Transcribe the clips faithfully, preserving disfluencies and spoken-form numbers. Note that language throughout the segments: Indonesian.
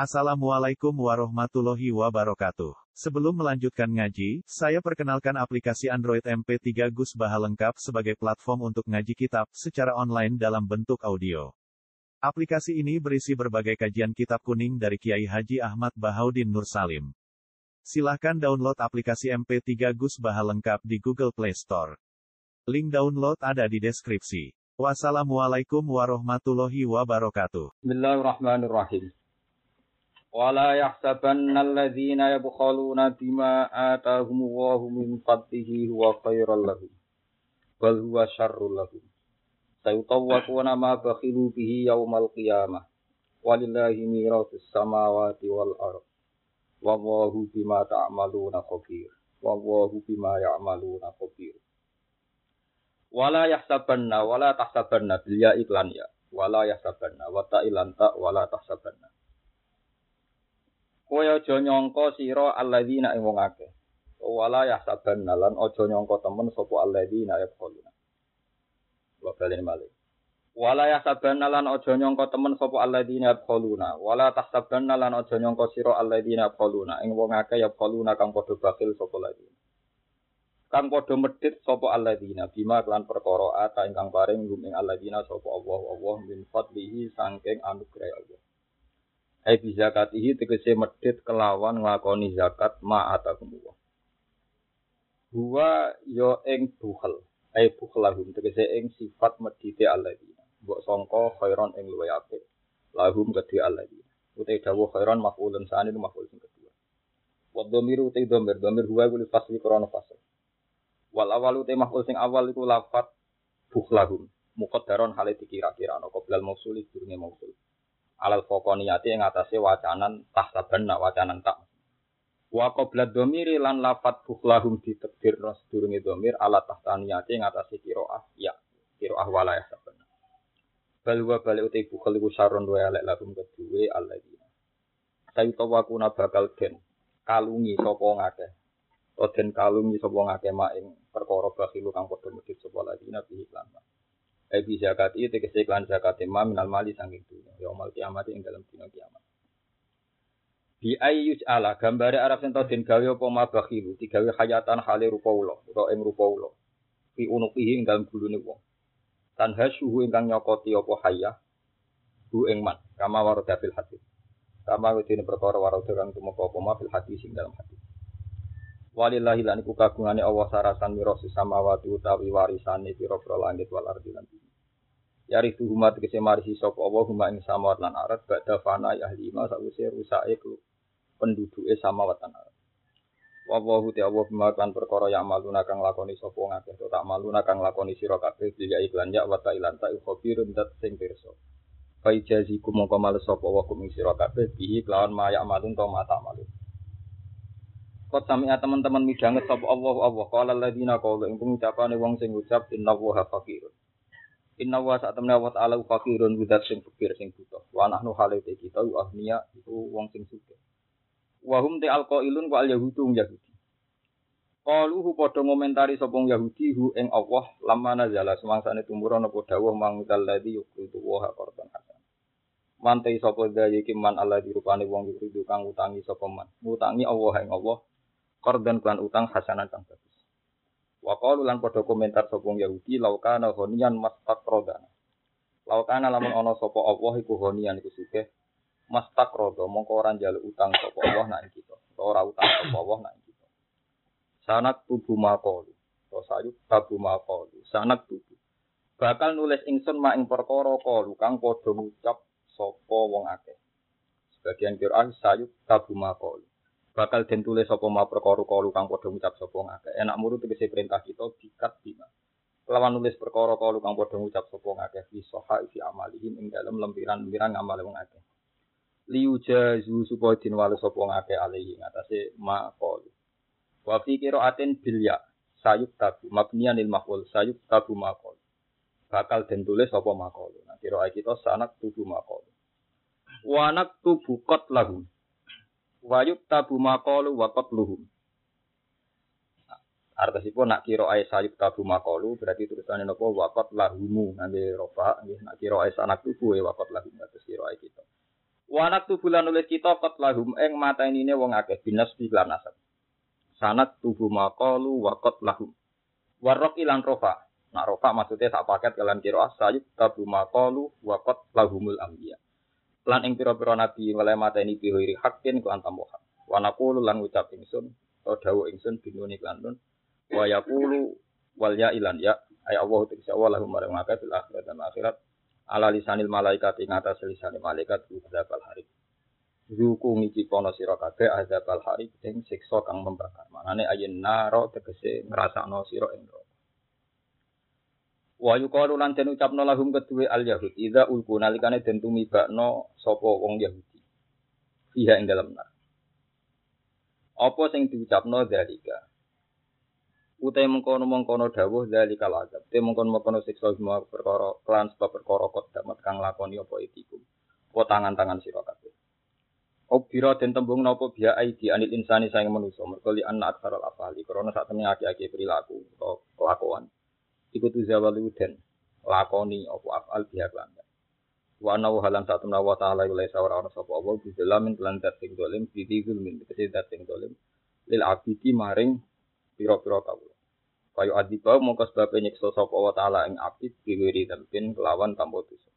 Assalamualaikum warahmatullahi wabarakatuh. Sebelum melanjutkan ngaji, saya perkenalkan aplikasi Android M P tiga Gus Baha lengkap sebagai platform untuk ngaji kitab secara online dalam bentuk audio. Aplikasi ini berisi berbagai kajian kitab kuning dari Kiai Haji Ahmad Bahaudin Nur Salim. Silahkan download aplikasi M P tiga Gus Baha lengkap di Google Play Store. Link download ada di deskripsi. Wassalamualaikum warahmatullahi wabarakatuh. Bismillahirrahmanirrahim. Wala yahsabanna alladhina yabkhaluna bima atahumullahu min fadlihi huwa khairal lahum bal huwa syarrul lahum sayutawwaquna ma bakhilu bihi yaumal qiyamah walillahi mirasus samawati wal ardh wallahu bima ta'maluna khabir wallahu bima ya'maluna khabir. Wala yahsabanna wala tahsabanna bil ya iklan ya wala yahsabanna wa ta'ilan ta wala tahsabanna. Kowe aja nyangka sira alladzina ing wong akeh. Wala yahsabanna lan aja nyangka temen sapa alladzina yaquluna. Wa balen malik. Wala yahsabanna lan aja nyangka temen sapa alladzina yaquluna. Wala tahsabanna lan aja nyangka sira alladzina yaquluna. Ing wong akeh yaquluna kang padha bakil sapa alladzina. Kang padha medhit sapa alladzina bima lan perkara ata ingkang paring gum ing alladzina sapa Allah Allah min fadlihi saking anugerah Allah. Ai bi zakatihi tegese medhit kelawan nglakoni zakat ma'atakumullah. Huwa yo ing bukhel, ai bukhlahum tegese ing sifat medhite alladzina. Mbok sangka khairon ing luwih apik. Lahum kedhi alladzina. Utai dawuh khairon maf'ulun sani maf'ul sing kedua. Wa dhamiru utai dhamir dhamir huwa kuwi fasli krana fasal. Wal awal utai maf'ul sing awal iku lafat bukhlahum. Muqaddaron hale dikira-kira ana qoblal mausuli durunge mausul. Alal fokoniyati yang atasnya wacanan tahsabanna wacanan tak. Wa qabla dhamiri lan lafat bukhlahum ditakdir sedurunge dhamir ala tahtaniyati yang atasnya qiraah ya qiraah wala yahsabanna. Bal wa bal uti bukhal iku sarun wa alek lahum kedue alladzina. Sayutawakuna bakal den kalungi sapa ngakeh. O den kalungi sapa ngakeh mak ing perkara bakhilu kang padha medhit sapa alladzina bihi lan. Ebi zakat itu tegese iklan zakat imam minal mali saking dunya yaumul kiamat ing dalam dina kiamat. Bi ayyus ala gambare arab sing den gawe apa mabakhilu digawe hayatan hale rupa ula utawa ing rupa ula. Fi unuqihi ing dalam gulune wong. Tanhasuhu ingkang nyokoti apa hayah bu ing man kama warada fil hadis. Kama wedine perkara warada kang tumeka apa ma fil hadis ing dalam hadis. Walillahi lan iku kagungane Allah sarasan mirasus samawati utawi warisane pira-pira langit wal ardi lan bumi. Yari tuhuma tegese marisi sapa Allah huma ing samawat lan ardh badha fana ahli ma sawise rusake penduduke samawat lan ardh. Wa Allahu ta'ala bima kan perkara ya amaluna kang lakoni sapa ngakeh to tak maluna kang lakoni sira kabeh dia iklan ya wa ta'ilan ta khabirun dat sing pirsa. Fa ijazikum mongko males sapa wa kum sira kabeh bihi kelawan ma ya amalun to mata malun. Kot sami'a teman-teman midanget sapa Allah Allah qala alladziina qalu ing pengucapane wong sing ngucap innallaha faqirun. Innallaha sa'tamna wa ta'ala faqirun widat sing fakir sing butuh. Wa nahnu halate kita ahniya iku wong sing sugih. Wa hum ta alqailun wa al-yahudu yahudi. Qalu hu padha ngomentari sapa Yahudi hu ing Allah lamma nazala semangsane tumurun apa dawuh mangkal ladzi yuqitu wa qardan hasan. Mantai sapa daya iki man Allah dirupane wong yuqitu kang utangi sapa man. Ngutangi Allah ing Allah qardan kan utang hasanan kang bagus. Wa qalu lan padha komentar sapa Yahudi laukana ghaniyan mastaqradana. Laukana lamun ana sapa Allah iku ghaniyan iku sugih mastaqrada mongko ora njaluk utang sapa Allah nak kita. Ora utang sapa Allah nak kita. Sanak tubuh maqalu. To sayuk tabu maqalu. Sanak tubuh. Bakal nulis ingsun mak ing perkara qalu kang padha ngucap sapa wong akeh. Sebagian Qur'an sayuk tabu maqalu. Bakal den tulis sapa ma perkara-perkara kang padha ngucap sapa ngakeh. Enak muru tegese perintah kita dikat bima. Lawan nulis perkara-perkara kang padha ngucap sapa ngakeh fi soha fi amalihim ing dalem lempiran-lempiran ngamal wong akeh. Liujazu supaya den wales sapa ngakeh alihi ngatasé ma qalu. Wa fi qira'atin bil ya sayuk tabu mabniyan lil maf'ul sayuk tabu ma qalu. Bakal den tulis sapa ma qalu. Nah qira'ah kita sanak tubu ma qalu. Wa naktubu qatlahum. Wa yuktabu maqalu wa qatluhum. Artosipun nak kira ae sayuk tabu maqalu berarti tulisane napa wa qatlahumu ngangge rofa nggih nak kira ae sanak tubuh wa qatluhum terus kira ae kita. Wanak tubulan nulis kita kot lahum ing matenine wong akeh binas lan nasab. Sanad tubuh maqalu wa kot lahum. Warok ilan rofa. Nah rofa maksudnya sak paket kalian kira sayid tubuh maqalu wa kot lahumul anbiya. Lan ing pira-pira nabi oleh mateni bihiri hakin kelan tambahan. Wa naqulu lan ngucap ingsun atau dawuh ingsun binuni lan nun. Wa yaqulu wal ya ilan ya ay Allah ta'ala wa lahum marang akeh fil akhirat dan akhirat. Ala lisanil malaikat ing atas lisanil malaikat azabal harik. Zuku ngiki kono sira kabeh azabal harik ing siksa kang membakar. Manane ayen naro tegese ngrasakno sira ing neraka. Wa yuqalu lan den ucapno lahum kedue al yahud idza ulqu nalikane den tumibakno sapa wong Yahudi. Iya ing dalem nar. Apa sing diucapno dalika? Utai mengkono-mengkono dawuh zalikal azab. Te mengkono-mengkono siksa semua perkara kelan sebab perkara kok damat kang lakoni apa itikum. Apa tangan-tangan sira kabeh. Obira den tembung napa biya aidi anil insani saing manusa mergo li anna aksaral afali krana sak temene aki-aki perilaku utawa kelakuan. Iku tu zawalu den lakoni apa afal biya lan. Wa ana halan sak temene wa ta'ala ila ora ana sapa apa bizalamin lan dat sing dolim bidizul min kese dat sing dolim lil abidi maring pira-pira kawula. Kaya adiba mongko sebab nyiksa sapa wa taala ing abid diwiri tempin kelawan tanpa dosa.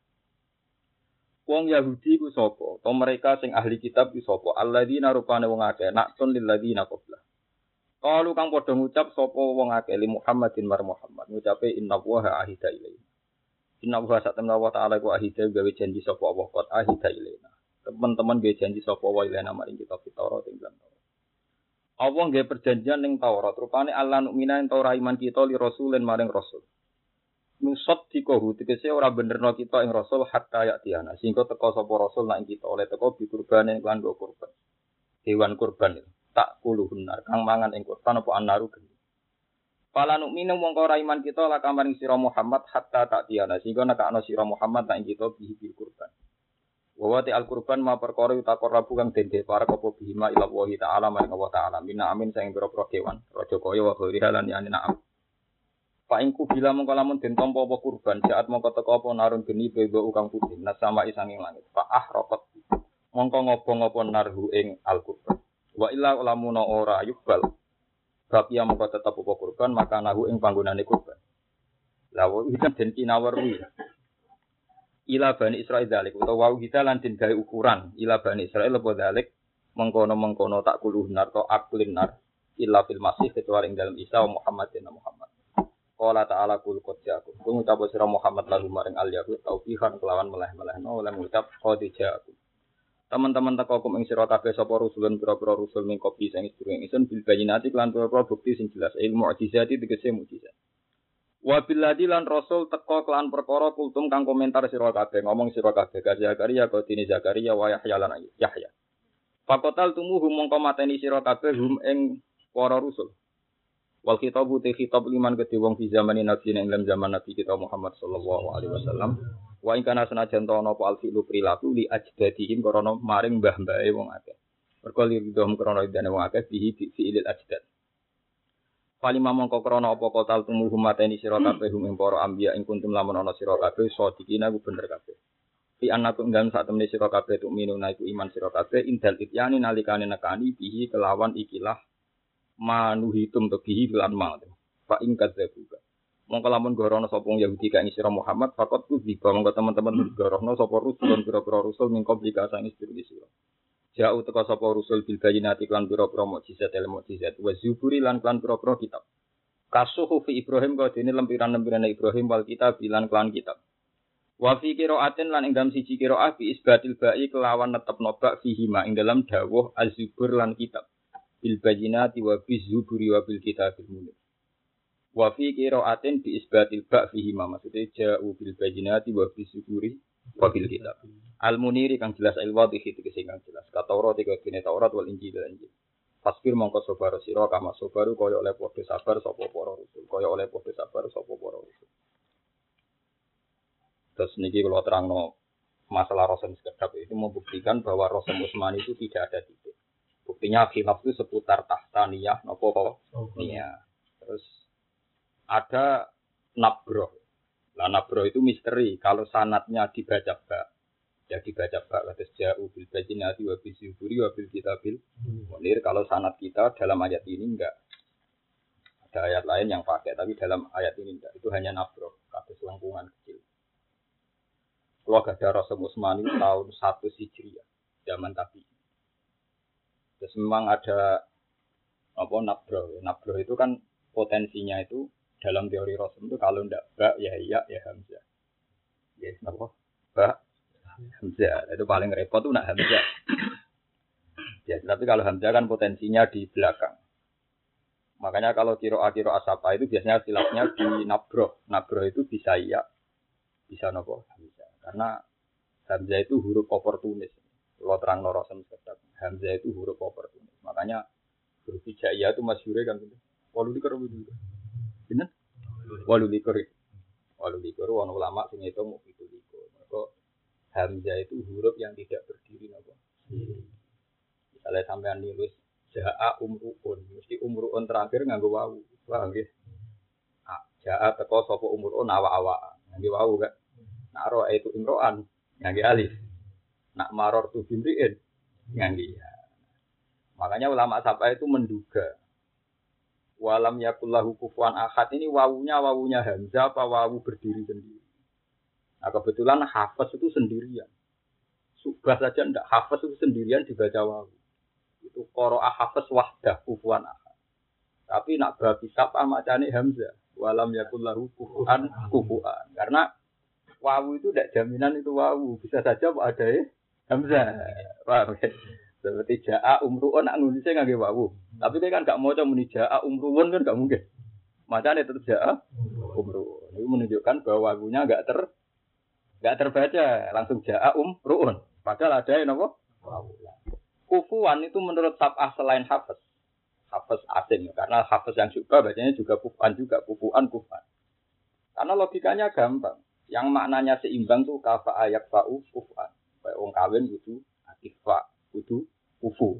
Wong Yahudi ku sapa? To mereka sing ahli kitab ku sapa? Alladzina rupane wong akeh naksun lil ladzina qabla. Kalu kang padha ngucap sapa wong akeh li Muhammadin mar Muhammad ngucape inna wa ahida ilaina. Inna wa satamna wa taala ku ahida gawe janji sapa Allah qad ahida ilaina. Teman-teman gawe janji sapa wa ilaina maring kitab Taurat ing dalam Allah nggih perjanjian ning Taurat, rupane Allah nukmina ento ora iman kita li rasulin maring rasul. Nusot dikohu tegese ora benerno kita ing rasul hatta ya tiana, sehingga teko sapa rasul nak kita oleh teko bi kurbanen lan go kurban. Hewan kurban tak kuluhun nar kang mangan ing kurban apa anaru geni. Pala nukmina mongko ora iman kita la kamaring sira Muhammad hatta tak tiana, sehingga nekakno sira Muhammad nak kita bi kurban. Wawati al-Qurban ma perkara utakor rabu kang dende para apa bihima ila Allah taala maring Allah taala minna amin saing pira-pira kewan raja kaya wa khairi lan yani na'am. Fa ingku bila mongko lamun den tampa apa kurban saat mongko teka apa narun geni bebo kang putih nasama isanging langit fa ahraqat mongko ngobong apa narhu ing al-Qurban wa illa lamun ora yubal bab ya mongko tetep apa kurban maka nahu ing panggonane kurban. Lah iki den kinawar kuwi ila bani Israil dalik utawa wau kita lan den gawe ukuran ila bani Israil apa dalik mengkono-mengkono tak kuluh nar to aklin nar illa fil masih kecuali ing dalam Isa Muhammad dan Muhammad. Qala ta'ala kul qad ja'akum. Kung ucap sira Muhammad lalu maring al yahud taufihan kelawan meleh-melehno lan ngucap qad ja'akum. Teman-teman teko kum ing sira kabeh sapa rusulun pira-pira rusul ning kopi sing sedurunge ingsun bil bayinati lan pira-pira bukti sing jelas ilmu mukjizati tegese mukjizat. Wa billadi lan rasul teka kelan perkara kultum kang komentar sira kabeh ngomong sira kabeh ka Zakaria ka dene Zakaria wa Yahya lan Yahya. Fakotal tumuhum mongko mateni sira kabeh hum ing para rusul. Wal khitabu te khitab liman kedhe wong fi zamane nabi ing zaman nabi kita Muhammad sallallahu alaihi wasallam. Wa ing kana senajan ta ana apa alfilu prilaku li ajdadihim karana maring mbah-mbahe wong akeh. Mergo liridhum karana idane wong akeh bihi fi ilil ajdad. Palima mongko krana apa kotal tumuhum mateni sira kabeh hum ing para anbiya ing kuntum lamun ana sira kabeh sadikina ku bener kabeh. Fi annakum dan sak temene sira kabeh tuk minuna iku iman sira kabeh indal ityani nalikane nekani bihi kelawan ikilah manuhitum to bihi lan ma. Fa ing kadzabuka. Mongko lamun gorono sapa wong Yahudi ka ing sira Muhammad fakot ku diba mongko teman-teman gorono sapa rusul pira-pira rusul ning komplikasi istri sira. Jauh teka sapa rusul bil bayinati lan pira-pira mukjizat el mukjizat wa zuburi lan lan pira-pira kitab. Kasuhu fi Ibrahim ka dene lempiran-lempiran Ibrahim wal kitab lan lan kitab. Wa fi qiraatin lan ing dalam siji qiraah bi isbatil ba'i kelawan netepno bak fihi ma ing dalam dawuh az-zubur lan kitab. Bil bayinati wa biz zuburi wa bil kitabil munir. Wa fi qiraatin bi isbatil ba' fihi ma maksude ja'u bil bayinati wa biz zuburi wa bil kitab. Al-Muniri kang jelas al-wadhihi tegese kang jelas. Ka Taurat iku dene Taurat wal Injil lan Injil. Fasbir mongko sabar sira kama sabaru kaya oleh padha sabar sapa para rasul. Kaya oleh padha sabar sapa para rasul. Terus niki kalau terangno masalah Rasul sekedap itu membuktikan bahwa Rasul Utsmani itu tidak ada titik. Buktinya khilaf itu seputar tahtaniyah napa kok. Iya. Terus ada nabroh. Lah nabroh itu misteri kalau sanatnya dibaca ba. Ya dibaca bak kados ja'u bil bayyinati wa bil zuburi wa bil kitabil munir. Kalau sanad kita dalam ayat ini enggak. Ada ayat lain yang pakai, tapi dalam ayat ini enggak. Itu hanya nafroh, kados lengkungan kecil. Kalau gak ada Rasul Utsmani tahun satu Hijriah, zaman tabi. Terus memang ada apa nafroh. Nafroh itu kan potensinya itu dalam teori Rasul itu kalau ndak ba ya iya ya hamzah. Ya kenapa? Ba hamzah. Itu paling repot tuh nak hamzah. Ya, tapi kalau hamzah kan potensinya di belakang. Makanya kalau kiro-kiro asapa itu biasanya silapnya di nabroh. Nabroh itu bisa iya, bisa nopo hamzah. Karena hamzah itu huruf oportunis. Kalau terang Rasul tetap hamzah itu huruf oportunis. Makanya huruf hijaiyah itu masyhur kan gitu. Walu likur itu. Benar? Walu likur. Walu likur wan ulama sing itu mau itu likur. Maka hamzah itu huruf yang tidak berdiri napa. Misalnya sampean nulis jaa umruun, mesti umruun terakhir nganggo wawu. Paham nggih? Ah, jaa teko sapa umruun awa-awa. Nganggo wawu kan. Nak ro itu imroan nganggo alif. Nak maror tu bimriin nganggo ya. Makanya ulama sapa itu menduga walam yakullahu kufuwan ahad ini wawunya wawunya hamzah apa wawu berdiri sendiri. Nah kebetulan hafaz itu sendirian. Subah saja ndak hafaz itu sendirian dibaca wawu. Itu qara'a hafaz wahdah kufuwan ahad. Tapi nak babi sapa macane hamzah walam yakullahu kufuwan kufuwan. Karena wawu itu ndak jaminan itu wawu, bisa saja ada ya hamzah. Paham ya? Seperti jaa umruun nak nulisnya ngangge wawu. Tapi dia kan gak maca muni jaa umruun kan gak mungkin. Macane tetap jaa umruun. Itu menunjukkan bahwa wawunya enggak ter enggak terbaca, langsung jaa umruun. Padahal ada yang apa? Wawu. Kufuwan itu menurut tab'ah selain hafaz. Hafaz asing karena hafaz yang juga bacanya juga kufuan juga, kufuan kufan. Karena logikanya gampang. Yang maknanya seimbang tuh kafa ayak fa'u kufan. Kayak wong kawin gitu akifah kudu kufu.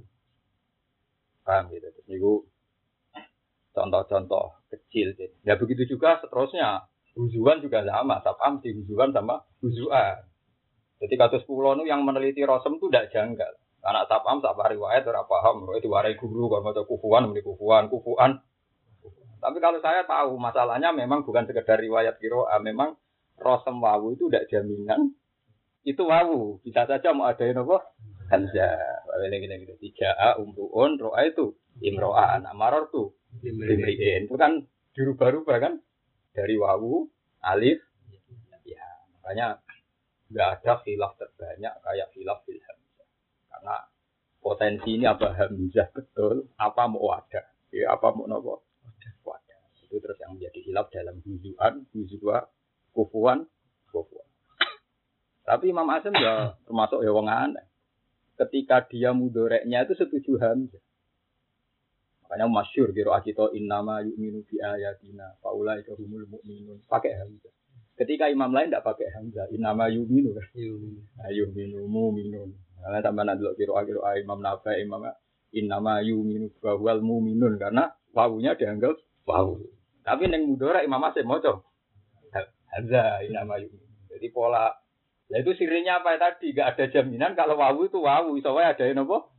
Paham gitu. Terus niku contoh-contoh kecil. Ya begitu juga seterusnya. Huzuan juga sama. Sapam mesti huzuan sama huzuan. Jadi kados kula nu yang meneliti Rasul itu tidak janggal. Anak sapam sak riwayat ora paham. Itu diwarai guru kalau maca kufuan muni kufuan, kufuan. Tapi kalau saya tahu masalahnya memang bukan sekedar riwayat qiraah, memang Rasul wawu itu tidak jaminan itu wawu. Bisa saja mau ada apa? Hamzah, ini gini gini tiga a umruun roa itu imroan amaror tuh imriin itu kan dirubah-rubah kan dari wawu alif ya makanya nggak ada khilaf terbanyak kayak khilaf fil hamzah karena potensi ini apa hamzah betul apa mau ada ya apa mau nopo ada itu terus yang menjadi khilaf dalam huzuan huzua kufuan kufuan tapi Imam Asy'am ya termasuk ya wong aneh. Ketika dia mudoreknya itu setuju hamzah. Makanya masyhur kira kita innama yu'minu bi ayatina faulaika humul mu'minun pakai hamzah. Ketika imam lain tidak pakai hamzah, innama yu'minu kan. Yu'minu mu'minun. Nah, tambahan delok kira-kira Imam Nawawi Imam innama yu'minu wa huwal mu'minun karena wawunya dianggap wawu. Tapi ning mudorek Imam Asy'am maca hamzah innama yu'minu. Jadi pola nah itu sirinya apa tadi? Gak ada jaminan kalau wawu itu wawu. Iso wae ada yang apa?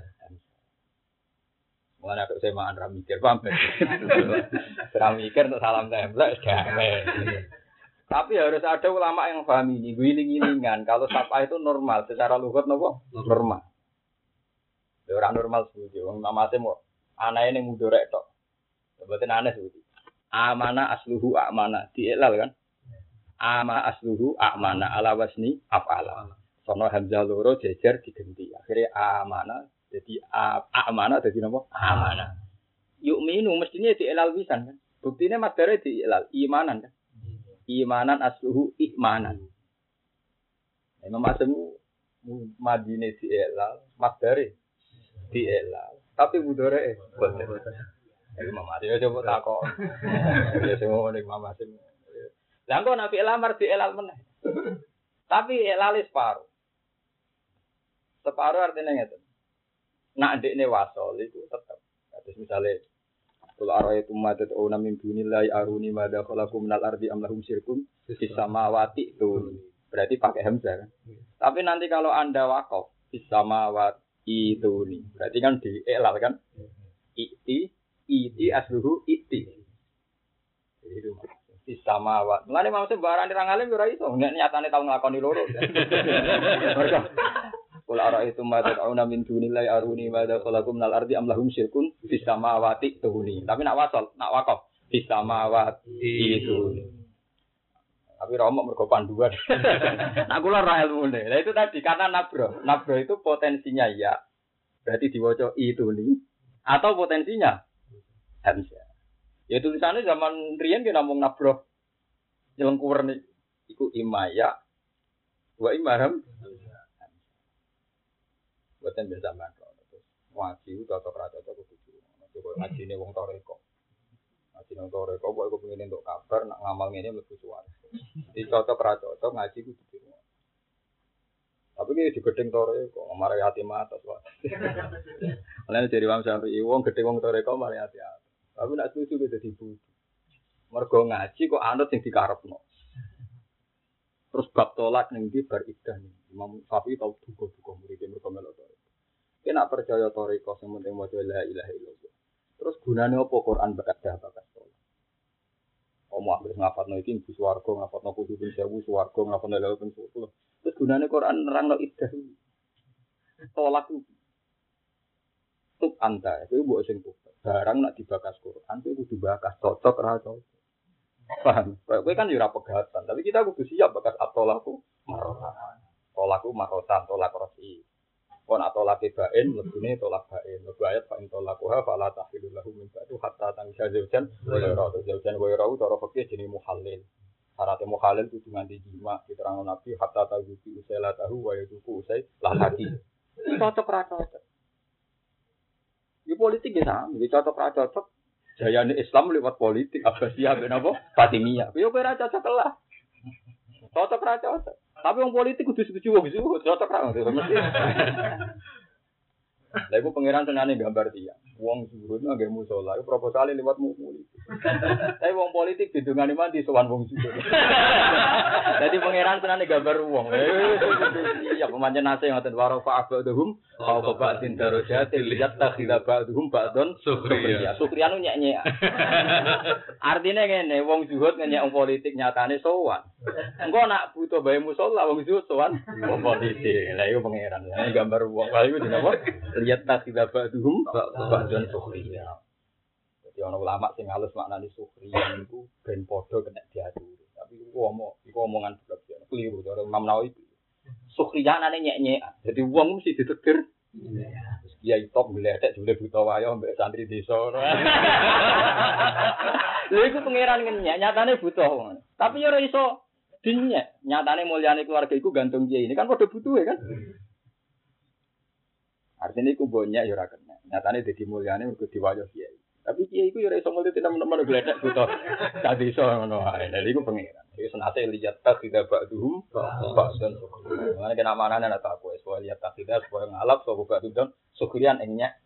Mulane aku semaan ra mikir paham. Ra mikir untuk salam templek gawe. Tapi harus ada ulama yang paham ini. Giling-gilingan kalau sapa itu normal secara lugat napa? Normal. Ya ora normal setuju. Wong namate mau anae ning mudorek tok. Mboten aneh setuju. Amana asluhu amana dielal kan? Ama asluhu amana ala wasni af'ala. Sono hamzah loro jejer digenti. Akhirnya amana jadi amana jadi napa? Amana. Yu'minu mestinya dielal pisan kan. Buktine madare dielal imanan kan. Imanan asluhu imanan. Imam Asy'am madine dielal, madare dielal. Tapi mudhare boten. Imam Asy'am coba takok. Ya semua ning Imam Asy'am. Lah kok nabi lamar di elal meneh. Tapi elale separuh. Separuh artinya ngeten. Nak ndekne wasol itu tetep. Terus misale kula ara itu madat una min dunillahi aruni madza khalaqu minal ardi am lahum syirkun fis samawati itu. berarti pakai hamzah kan. Tapi nanti kalau Anda wakaf bisamawat itu nih, berarti kan di elal kan. Iti, iti asluhu iti. Jadi itu bisamawat. Mulane maksud barang dirang alim ora iso, nek nyatane tau nglakoni loro. Mereka kula ara itu mata'una min dunillahi aruni ma dakalakum minal ardi am lahum syirkun bisamawati tuhuni. Tapi nak wasal, nak wakaf bisamawati itu. Tapi romok mergo panduan. Nah kula ra ilmune. Lah itu tadi karena nabro. Nabro itu potensinya ya. Berarti diwaca itu nih. Atau potensinya hamzah. Ya tulisannya zaman riyen ki namung nabro. Nyelengkuwer nih iku imaya wa imarham. Boten bisa mantu. Ngaji cocok ra cocok kudu. Ngajine wong toreko. Ngaji nang toreko kok aku pengen entuk kabar nak ngamal ngene mlebu suwarga. Di cocok ra cocok ngaji kudu dirungo. Tapi ki digedeng toreko mari hati mata wae. Lan dari wong sampe wong gedhe wong toreko mari hati. Tapi nak susu dadi bodho. Mergo ngaji kok anut sing dikarepno. Terus bab tolak ning ndi bar idah nih. Imam Syafi'i tau duga-duga murid mergo melok toreko. Kena percaya toreko sing penting maca la ilaha illallah. Terus gunane apa Quran bakadah bakas tolak. Omong ambek ngapatno iki mlebu swarga, ngapatno kudu ben sewu swarga, ngapatno lha ben sepuluh. Terus gunane Quran nerangno idah. Tolak itu. Tuk anta, itu mbok sing tuk. Barang nak dibakas Quran itu kudu bakas cocok ra cocok. Paham? Kowe kan yo ora pegatan, tapi kita kudu siap bakas atolaku marotan. Tolaku marotan, tolak rosi. Kon atolak bain, lebune tolak bain. Lebu ayat fa in tolakuha fala tahillu lahu min ba'du hatta tansa zaujan wa yara. Zaujan wa yara cara fikih jenenge muhallil. Syarat muhallil kudu nganti jima, diterangno Nabi hatta tazuki usela tahu wa yuku usai lahati. Cocok ra cocok. Di politik ya sama, di cocok ra cocok. Jayane Islam lewat politik, Abbasiyah ben apa? Fatimiyah. Yo kowe ra cocok lah. Cocok ra cocok. Tapi wong politik kudu setuju wong iku cocok ra mesti. Lah iku pangeran senane gambar dia. Wong zuhud nang ngemu salat, proposale lewat politik. Tapi wong politik didungani mandi sowan wong zuhud. Dadi pangeran senane gambar wong. Ya pemancen nase ngoten waro fa abadhum au ba'din darajatil yattakhidha ba'dhum ba'don sukhriya. Sukhriya nu nyek-nyek. Artine ngene, wong zuhud nyek wong politik nyatane sowan. Engko nak butuh bae musala wong zuhud sowan wong politik. Lah iku pangeran. Ini gambar wong. Lah iku dinapa? Lihat tak tidak ba'duhum ba'dun sukhriya. Jadi ana ulama sing halus maknane sukhriya niku ben padha kena diatur. Tapi iku omong, iku omongan blok ya. Keliru cara Imam Nawawi. Sukhriya nane nyek-nyek. Jadi wong mesti ditegur. Terus kiai top gledek jule buta wayo mbek santri desa. Lha iku pangeran ngenyek, nyatane butuh. Tapi ora iso dinyek. Nyatane mulyane keluarga iku gantung kiai. Ini kan padha butuhe kan. Artinya iku banyak ya ora kena. Nyatane dadi mulyane mergo diwayo kiai. Tapi kiai iku ya ora iso mulih tenan-tenan gledek buta. Dadi iso ngono ae. Lha iku pangeran. Iki senate lihat tak tidak ba'duhum ba'dan. Mane kena manane ana tak kowe soal lihat tak tidak supaya ngalap sapa ba'dun sukrian ing nyek.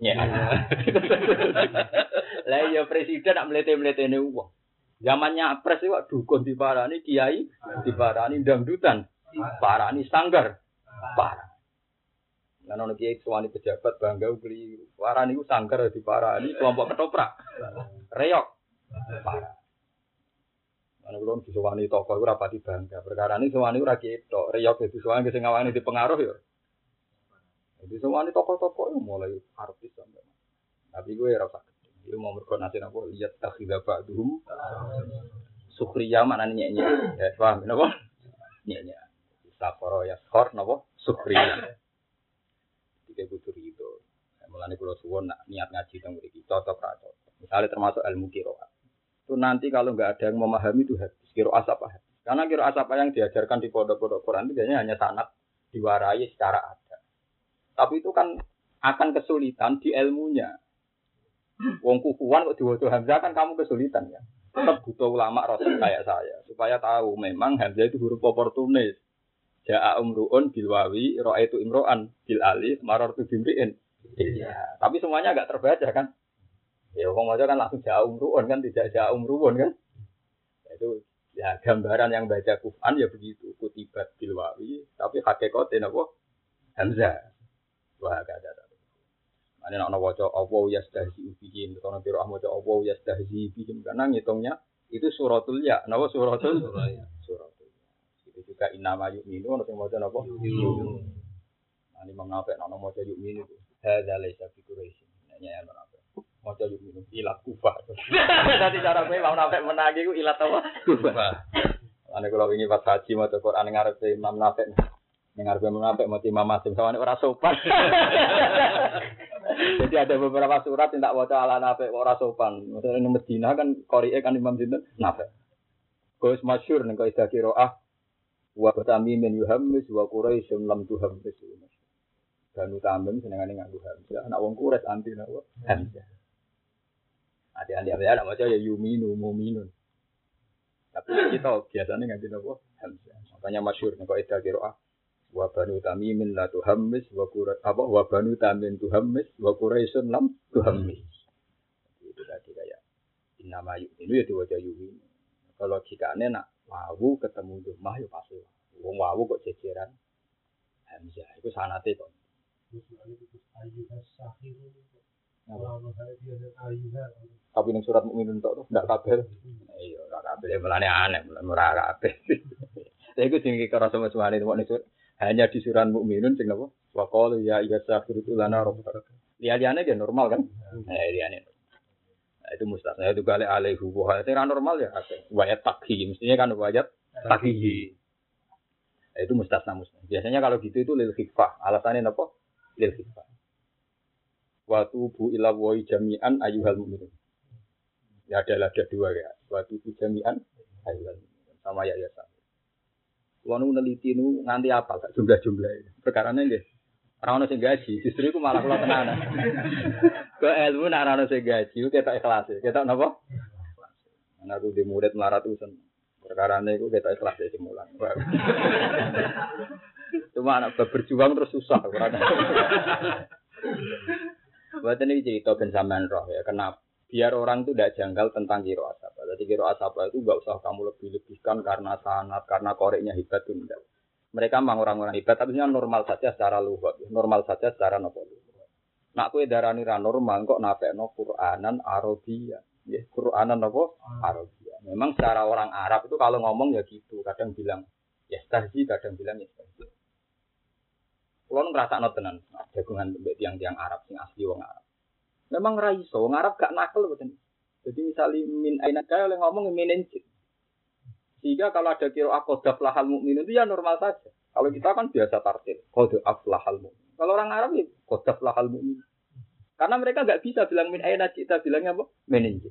Lah ya presiden nak mlete-mletene wong. Zamannya pres iku dukun diparani kiai, diparani dangdutan, parani sanggar. Parah. Lan ono kiai suwani pejabat bangga beli warani ku sanggar diparani kelompok ketoprak. Reyok. Parah. Ana kula disuwani tokoh ora pati bangga. Perkarane suwani ora ketok. Reyok itu suwani sing ngawani dipengaruh ya. Jadi suwani tokoh-tokoh mulai artis sampe. Tapi gue ora usah. Iku mau mergo nate napa lihat takhidha ba'dhum. Sukriya maknane nyek-nyek. Ya paham napa? Nyek-nyek. Sakoro ya skor napa? Sukriya. Tiga butuh itu. Mulane kula suwun nak niat ngaji teng mriki cocok ra cocok. Misalnya termasuk ilmu qiraat. Itu nanti kalau enggak ada yang memahami itu hadis qiraat apa hadis. Karena qiraat apa yang diajarkan di pondok-pondok Quran itu biasanya hanya sanad diwarai secara ada. Tapi itu kan akan kesulitan di ilmunya. Wong kukuan kok diwaca hamzah kan kamu kesulitan ya. Tetap butuh ulama rasul kayak saya supaya tahu memang hamzah itu huruf oportunis. Ja'a umru'un bil wawi ra'aitu imro'an bil alif marartu bimri'in. Iya, tapi semuanya enggak terbaca kan? Ya wong maca kan langsung ja'a umru'un kan tidak ja'a umru'un kan? Itu Ya gambaran yang baca Quran ya begitu, kutibat bil wawi, tapi hakikatnya apa? Hamzah. Wah gak ada. Ane nak waca apa yastahzi bikin, kalau nanti roh waca apa yastahzi bikin karena ngitungnya itu suratul ya, napa suratul ya. Suratul. Itu juga inama yu'minu ono sing maca napa? Yu'minu. Ani mengapa nak maca yu'minu itu? Hadza laisa fi quraish. Nanya ya apa? Maca yu'minu ilat kufah. Dadi cara kowe mau nafek menangi ku ilat apa? Kufah. Ane kalau ini pas haji maca Quran ngarep Imam Nafek. Ning arep menapek mati Imam Masim sawane ora sopan. Jadi ada beberapa surat yang tak waca ala Nafek ora sopan. Misalnya di Medina kan qori'e kan Imam sinten Nafek. Kuwi masyhur ning kaidah qiraah wa batami min yuhammis wa quraisyun lam tuhammis. Banu Tamim senengane nganggo hamzah. Anak wong Quraisy anti napa? Hamzah. Ade-ade ada maca ya yuminu mu'minun. Tapi kita biasanya nganti napa? Hamzah. Makanya masyhur ning kaidah qiraah wa banu tamimin la tuhammis wa qura apa wa banu tamin tuhammis wa quraisyun lam tuhammis. Itu tadi kayak innama yu'minu ya diwaca yu'min. Kalau jikane nak wawu ketemu domah ya pasti wong wawu kok jejeran hamzah iku sanate kok. Tapi ning surat mukminun tok ndak kabeh. Iya ora kabeh melane aneh ora kabeh. Lha iku sing kira sama suwane ning surat hanya di surah mukminun sing napa wa qalu ya yasafiru lana rabbaka liane dia normal kan eh liane nah, itu mustasna itu kali alaihu wa itu normal ya wayat takhi mestinya kan wayat takhi nah, itu mustasna mustasna biasanya kalau gitu itu lil khifah alasannya napa lil khifah wa tubu ila wa jami'an ayyuhal mu'minun ya ada ada dua ya wa tubu jami'an ayyuhal mu'minun sama ya ya Kulo nu neliti nu nganti apa gak jumlah-jumlah. Perkarane nggih. Ora ono sing gaji, justru iku malah kula tenanan. Ke ilmu nek ora ono sing gaji, ketok ikhlas. Ketok napa? Ana aku di murid maratusan. Perkarane iku ketok ikhlas sing mulang. Cuma anak berjuang terus susah ora. Buat ini cerita ben sampean roh ya, kenapa? Biar orang itu tidak janggal tentang kiro asapa. Jadi kiro asapa itu nggak usah kamu lebih-lebihkan karena sanad, karena koreknya hebat itu enggak. Mereka memang orang-orang hebat, tapi normal saja secara luhut, normal saja secara nopo. Nak kue darani ra normal kok nafekno Qur'anan Arabia, ya Qur'anan nopo Arabia. Memang secara orang Arab itu kalau ngomong ya gitu, kadang bilang ya stahzi, kadang bilang ya stahzi. Kalau ngerasa tenan, jagungan tiang-tiang Arab yang asli wong Arab. Memang raiso, wong Arab gak nakal betul. Jadi misalnya min aina kaya oleh ngomong minenjit. Sehingga kalau ada kira qad aflahal mukmin itu ya normal saja. Kalau kita kan biasa tartil, qad aflahal mukmin. Kalau orang Arab ya qad aflahal mukmin. Karena mereka gak bisa bilang min aina kita bilangnya apa? Minenjit.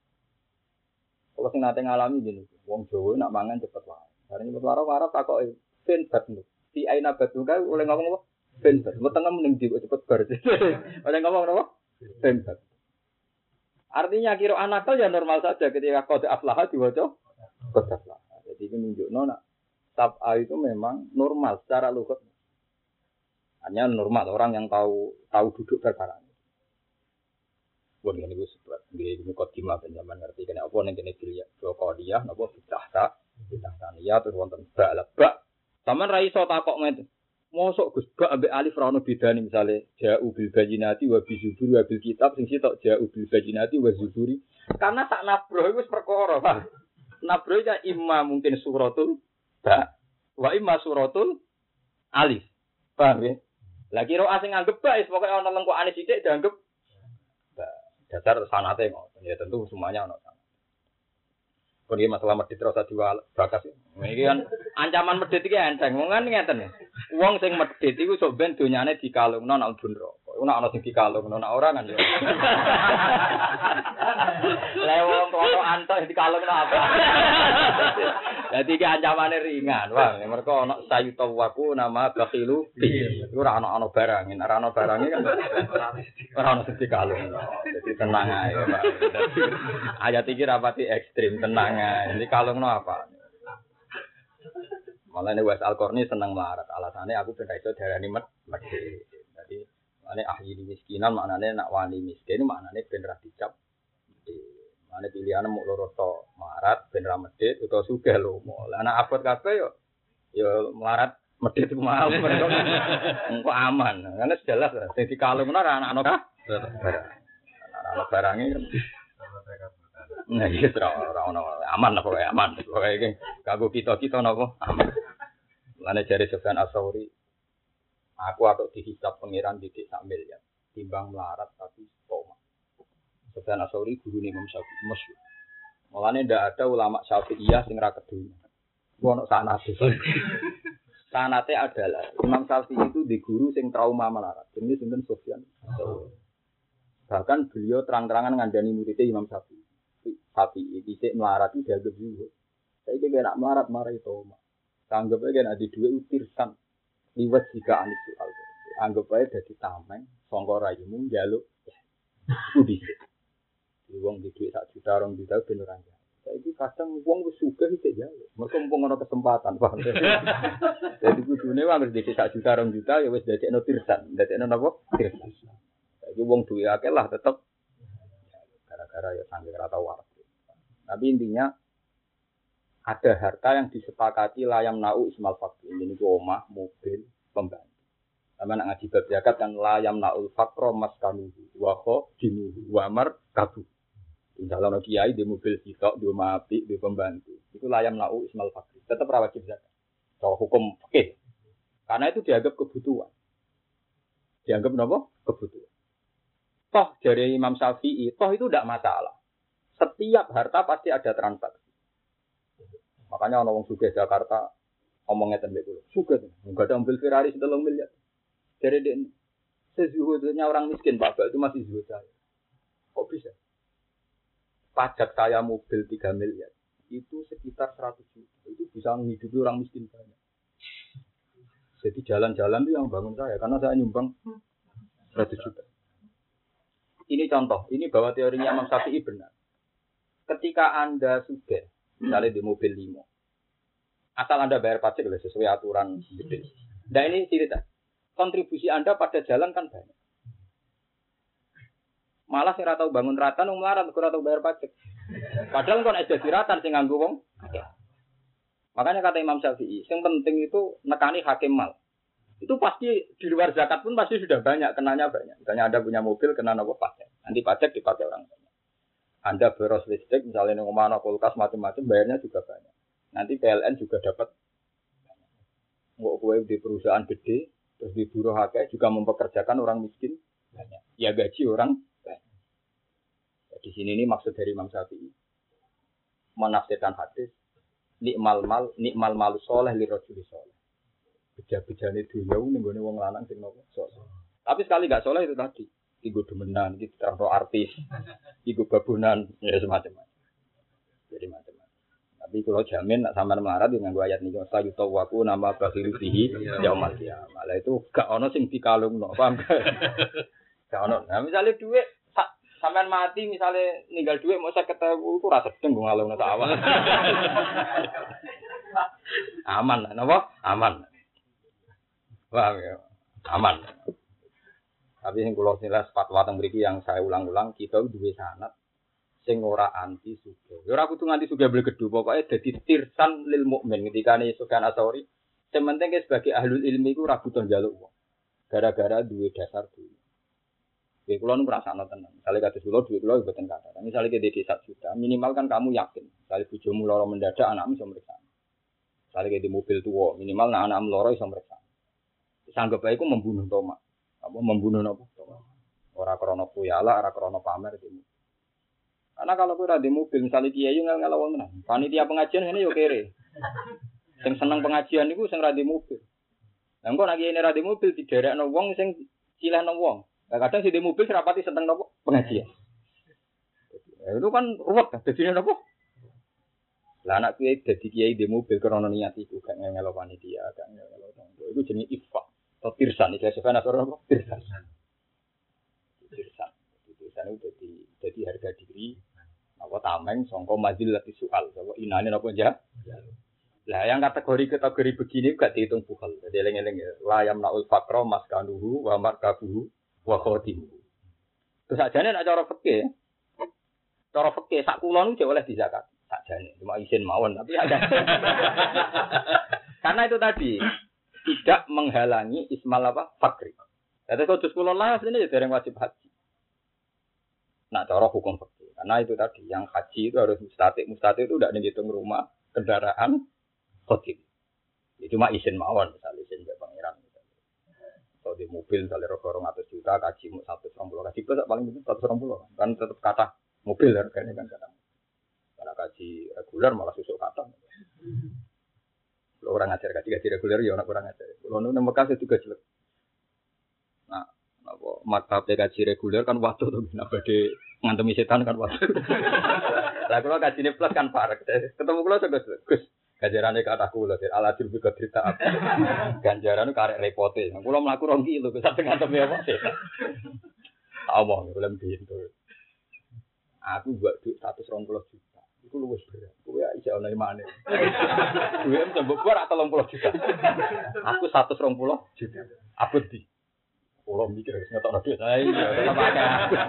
Kalau sing nate ngalami gini, wong Jawa nak mangan cepet wae. Karena cepet wae Arab takoke ben batnu. Di aina batnu kae oleh ngomong apa? Ben batnu. Wetenge mending di cepet bar. Oleh ngomong apa? Tempat. Artinya kira anakal ya normal saja ketika qad aflaha diwaca qad aflaha. Jadi ini menunjukno nak sab'a itu memang normal secara lughat. Hanya normal orang yang tahu tahu duduk perkara ini. Wong ngene iku sebab nggih mukadimah penjaman ngerti kena apa ning kene dilihat qadiyah napa bid'ah bid'ah saniyah terus wonten ba'laba. Saman ra iso takok ngene. Mosok Gus gak ambek alif ra ono bedane misale ja'u bil bayyinati wa bi zuburi wa bil kitab sing sitok ja'u bil bayyinati wa zuburi karena tak nabro iku wis perkara Pak. Nabro ya imma mungkin suratul ba wa imma suratul alif. Paham ya? Lah kira asing anggap ba wis pokoke ana lengkokane sithik dianggap ba. Dasar sanate ngoten ya tentu semuanya ono. Ini masalah medit terus dua bakas. Ini kan ancaman medit iki enteng. Wong kan ngeten. Wong sing medit iku sok ben donyane dikalungno nang bunro. Iku nek ana sing dikalungno nek ora kan ya. Lah wong kok antuk dikalungno apa? Dadi iki ancamane ringan. Wah, mergo ana sayuta waku nama bakhilu. Iku ora ana-ana barang. Nek ora ana barange kan ora ana sing dikalungno. Jadi tenang ae, Pak. Ayat iki rapati ekstrim tenang. Ini kalungno apa? Malah ini Wes Al-Qarni seneng melarat. Alasannya aku ben iso darani medhit. Jadi maknane ahli miskinan maknane nak wani miskin maknane ben ra dicap. Ane pilihan mau loro to, melarat ben ra medhit utawa sugih lomo. Lah anak abot kabeh yo yo melarat medhit ku mau mereka. Engko aman. Karena jelas lah sing dikalungno ra anak-anak ka. Anak-anak barange kan. Nah, iya ora ono aman apa wae aman. Pokoke iki kanggo kita-kita napa aman. Lane jare Sufyan Ats-Tsauri aku atau dihisab pangeran didik sak miliar timbang melarat tapi stoma. Sufyan Ats-Tsauri guru Imam Syafi'i masyhur. Mulane ndak ada ulama Syafi'iyah sing ra kedunya. Ku ono sanate. Sanate adalah Imam Syafi'i itu di guru sing trauma melarat. Jenenge sinten Sufyan Ats-Tsauri. Bahkan beliau terang-terangan ngandani muridnya Imam Syafi'i. Syafi'i dhisik melarat iki dianggap zuhud. Saiki nek melarat marah itu. Anggap aja nek adi dhuwit utirsan. Liwat jika anis soal. Anggap aja dadi tameng sangka rayumu njaluk ku dhisik. Wong di dhuwit sak juta rong juta ben ora njaluk. Saiki kadang wong wis sugih iki njaluk. Mergo mumpung ana kesempatan, paham. Jadi kudune wong wis dhisik sak juta rong juta ya wis dadekno tirsan. Dadekno napa? Tirsan. Saiki wong duwe akeh lah tetep gara-gara ya sange ora tau waras. Tapi intinya ada harta yang disepakati layam nau ismal fakir. Ini ku omah, mobil, pembantu. Sama nak ngaji bab zakat kan layam naul fakro maskanuhu wa khadimuhu wa markabu. Misalnya kiai di mobil sitok, di rumah api, di pembantu. Itu layam nau ismal fakir. Tetap wajib zakat. So hukum fikih. Karena itu dianggap kebutuhan. Dianggap apa? Kebutuhan. Toh dari Imam Syafi'i, toh itu tidak masalah. Setiap harta pasti ada transaksi. Makanya orang sugih Jakarta ngomongnya tembak dulu. Sugih, enggak ada mobil Ferrari setelung miliar. Jadi dia sezuhudnya orang miskin Pak, itu masih zuhud saya. Kok bisa? Pajak saya mobil tiga miliar itu sekitar seratus juta. Itu bisa menghidupi orang miskin banyak. Jadi jalan-jalan itu yang bangun saya karena saya nyumbang seratus juta. Ini contoh, ini bahwa teorinya Imam Syafi'i benar. Ketika Anda sudah, misalnya di mobil limo, asal Anda bayar pajak sesuai aturan gede. Nah ini cerita, kontribusi Anda pada jalan kan banyak. Malah saya tahu bangun ratan, melarat, saya tahu bayar pajak. Padahal kan ada diratan sing nganggo wong. Makanya kata Imam Syafi'i, yang penting itu nekani hakim mal. Itu pasti di luar zakat pun pasti sudah banyak, kenanya banyak. Misalnya Anda punya mobil, kena apa pajak. Nanti pajak dipakai orang banyak. Anda boros listrik, misalnya di rumah, kulkas, macam-macam, bayarnya juga banyak. Nanti P L N juga dapat. Nggak kue di perusahaan gede, terus di buruh hakai juga mempekerjakan orang miskin banyak. Ya gaji orang banyak. Ya, di sini ini maksud dari Imam Syafi'i. Menafsirkan hadis, nikmal mal, nikmal malu soleh, lirojuli soleh. Beja-bejane dunia ini nggone wong lanang sing nopo soleh. Tapi sekali gak soleh itu tadi, iku demenan, iki terang artis, iku babunan, ya semacam. Jadi macam-macam. Tapi kalau jamin nak sampean melarat dengan gua ayat niki saya tahu aku nama bakhiru fihi yaumul qiyamah. Lah itu gak ono sing dikalungno, paham gak? Gak ono. Nah misalnya duit sampean mati misalnya ninggal duit mau seket ribu iku ra sedeng go ngalungno sak awak. Aman, napa? Aman. Paham ya? Aman. Tapi yang kula nilai fatwa teng mriki yang saya ulang-ulang kita duwe sanad sing ora anti sugih. Ya ora kudu nganti sugih blegedu, pokoke dadi tirsan lil mukmin ketika ne Sufyan Ats-Tsauri. Sementing sebagai ahlul ilmi iku ora butuh njaluk wong. Gara-gara duwe dasar duwe. Kowe kula nu ngrasakno tenan. Misale kados kula duwe kula mboten kathah. Misale ke dhewe sak juta, minimal kan kamu yakin. Misale bojomu lara mendadak anakmu iso mriksa. Misale ke di mobil tuwa, minimal nek anakmu lara iso mriksa. Sanggep ae iku membunuh Toma. Apa membunuh napa? Ora krana kuyala, ora krana pamer iki. Karena kalau kowe ora di mobil, misalnya kiai ngel-ngel wong tenan. Panitia pengajian ngene yo kere. Sing seneng pengajian niku sing ra di mobil. Lah engko nek kiai ora di mobil diderekno wong sing cilehno wong. Lah kadang sing di mobil serapati seneng napa pengajian. Ya, itu kan ruwet kan dadine napa? Lah anak kiai dadi kiai di mobil krana niat iku gak ngel panitia, gak ngel wong. Iku jenenge ifak. Atau tirsan, itu sebenarnya apa? Tirsan. Tirsan. Tirsan itu jadi, jadi harga diri. Apa tameng, songko mazil lati soal. Apa inane apa aja? Lah yang kategori-kategori begini gak dihitung bukhal. Jadi eleng-eleng ya. Layam na'ul fakro maskanuhu wa markabuhu wa khotimuhu. Terus aja nih nak cara fikih. Cara fikih sak kulon itu oleh dizakat. Sakjane cuma izin mawon tapi ada. Karena itu tadi tidak menghalangi ismal apa? Fakri. Jadi kalau juz kulon lah aslinya ya dereng wajib haji. Nah, cara hukum fikih. Karena itu tadi yang haji itu harus mustatik. Mustatik itu tidak dihitung rumah, kendaraan, hotel. Itu cuma izin mawon, misalnya izin ke pangeran. Kalau di mobil misalnya rong atus juta, kaji mau seratus dua puluh, kaji plus paling itu seratus dua puluh. Kan tetap kata mobil harganya kan kata. Karena kaji reguler malah susuk kata. Kalau orang ngajar kaji kaji reguler ya orang orang ngajar. Kalau nunggu Mekah itu juga jelek. Nah, apa mata kaji reguler kan waktu tuh kenapa di ngantemi setan kan waktu. Lah kalau kaji ini plus kan parek. Ketemu kalau juga Gus. Ganjarannya kata kula, aladul juga cerita apa? Ganjaran itu karek repote. Kula mlaku rong kilo, bisa tengah temi apa sih? Omong, kula pintu. Aku buat duit seratus dua puluh juta. Iku luwes berat. Kuwi iso ana imane. Duit mbok ora tiga puluh juta. Aku seratus dua puluh juta. Aku di. Kula mikir wis ngetokno duit. Ha iya, tetep akeh.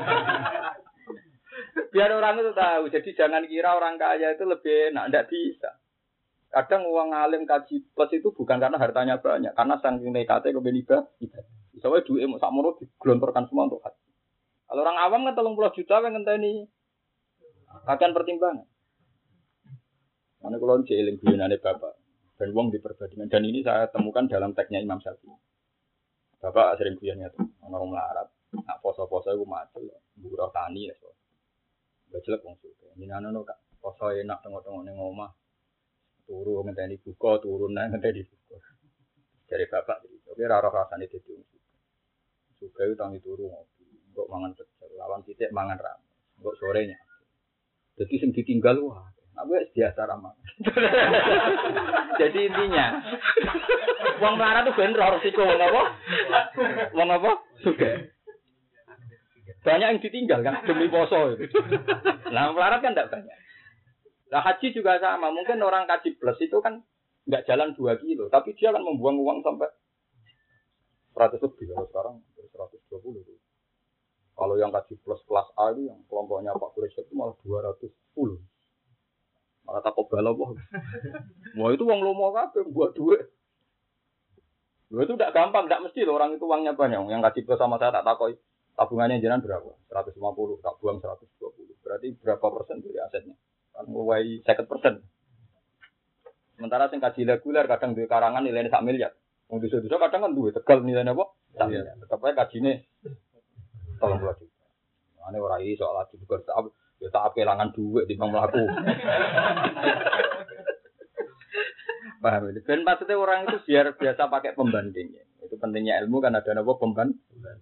Biar orang itu tahu. Jadi jangan kira orang kaya itu lebih enak, enggak bisa. Kadang uang alim kaji plus itu bukan karena hartanya banyak, karena saking nekatnya kemudian ibadah. Misalnya duit mau sakmono digelontorkan semua untuk haji. Kalau orang awam kan tiga puluh juta kan ngenteni akan pertimbangan. Mana kalau jeeling guyonane bapak dan uang di perbandingan dan ini saya temukan dalam teksnya Imam Syafi'i. Bapak sering guyonnya tuh orang melarat, nak poso-poso itu macul, buruh tani ya so. Gak jelek wong suka. Ini anak kak poso enak tengok-tengok neng omah. Turu ngenteni buka turun nang ngenteni buka. Dari bapak iki, oke ora rasane dadi wong suka. Suka itu tangi turu ngopi, kok mangan pecel, lawan titik mangan ram. Kok sorenya. Jadi sing ditinggal wah, nek wis biasa ramah. Jadi intinya wong melarat tuh ben ora resiko wong apa? Wong apa? Suka. Banyak yang ditinggal kan demi poso itu. Lah melarat kan enggak banyak. Nah haji juga sama, mungkin orang kaji plus itu kan nggak jalan dua kilo, tapi dia kan membuang uang sampai seratus lebih kalau sekarang seratus dua puluh itu. Kalau yang kaji plus kelas A itu yang kelompoknya Pak Kuresh itu malah dua ratus sepuluh. Malah takut bala boh. Wah itu uang lomo kabeh buat duit. Duit itu tidak gampang, tidak mesti loh orang itu uangnya banyak. Yang kaji plus sama saya tak takoi tabungannya jenengan berapa? seratus lima puluh, tak buang seratus dua puluh. Berarti berapa persen dari asetnya? Kan mulai second persen. Sementara sing kaji reguler kadang duwe karangan nilainya sak miliar. Wong desa-desa kadang kan duwe Tegal nilainya apa? sak miliar. Tetep ae kajine tiga puluh juta. Ane ora iso lagi bukan tak ya tak kelangan duit di mlaku. Paham ini. Ben maksudnya orang itu biar biasa pakai pembanding. Itu pentingnya ilmu kan ada apa pembanding.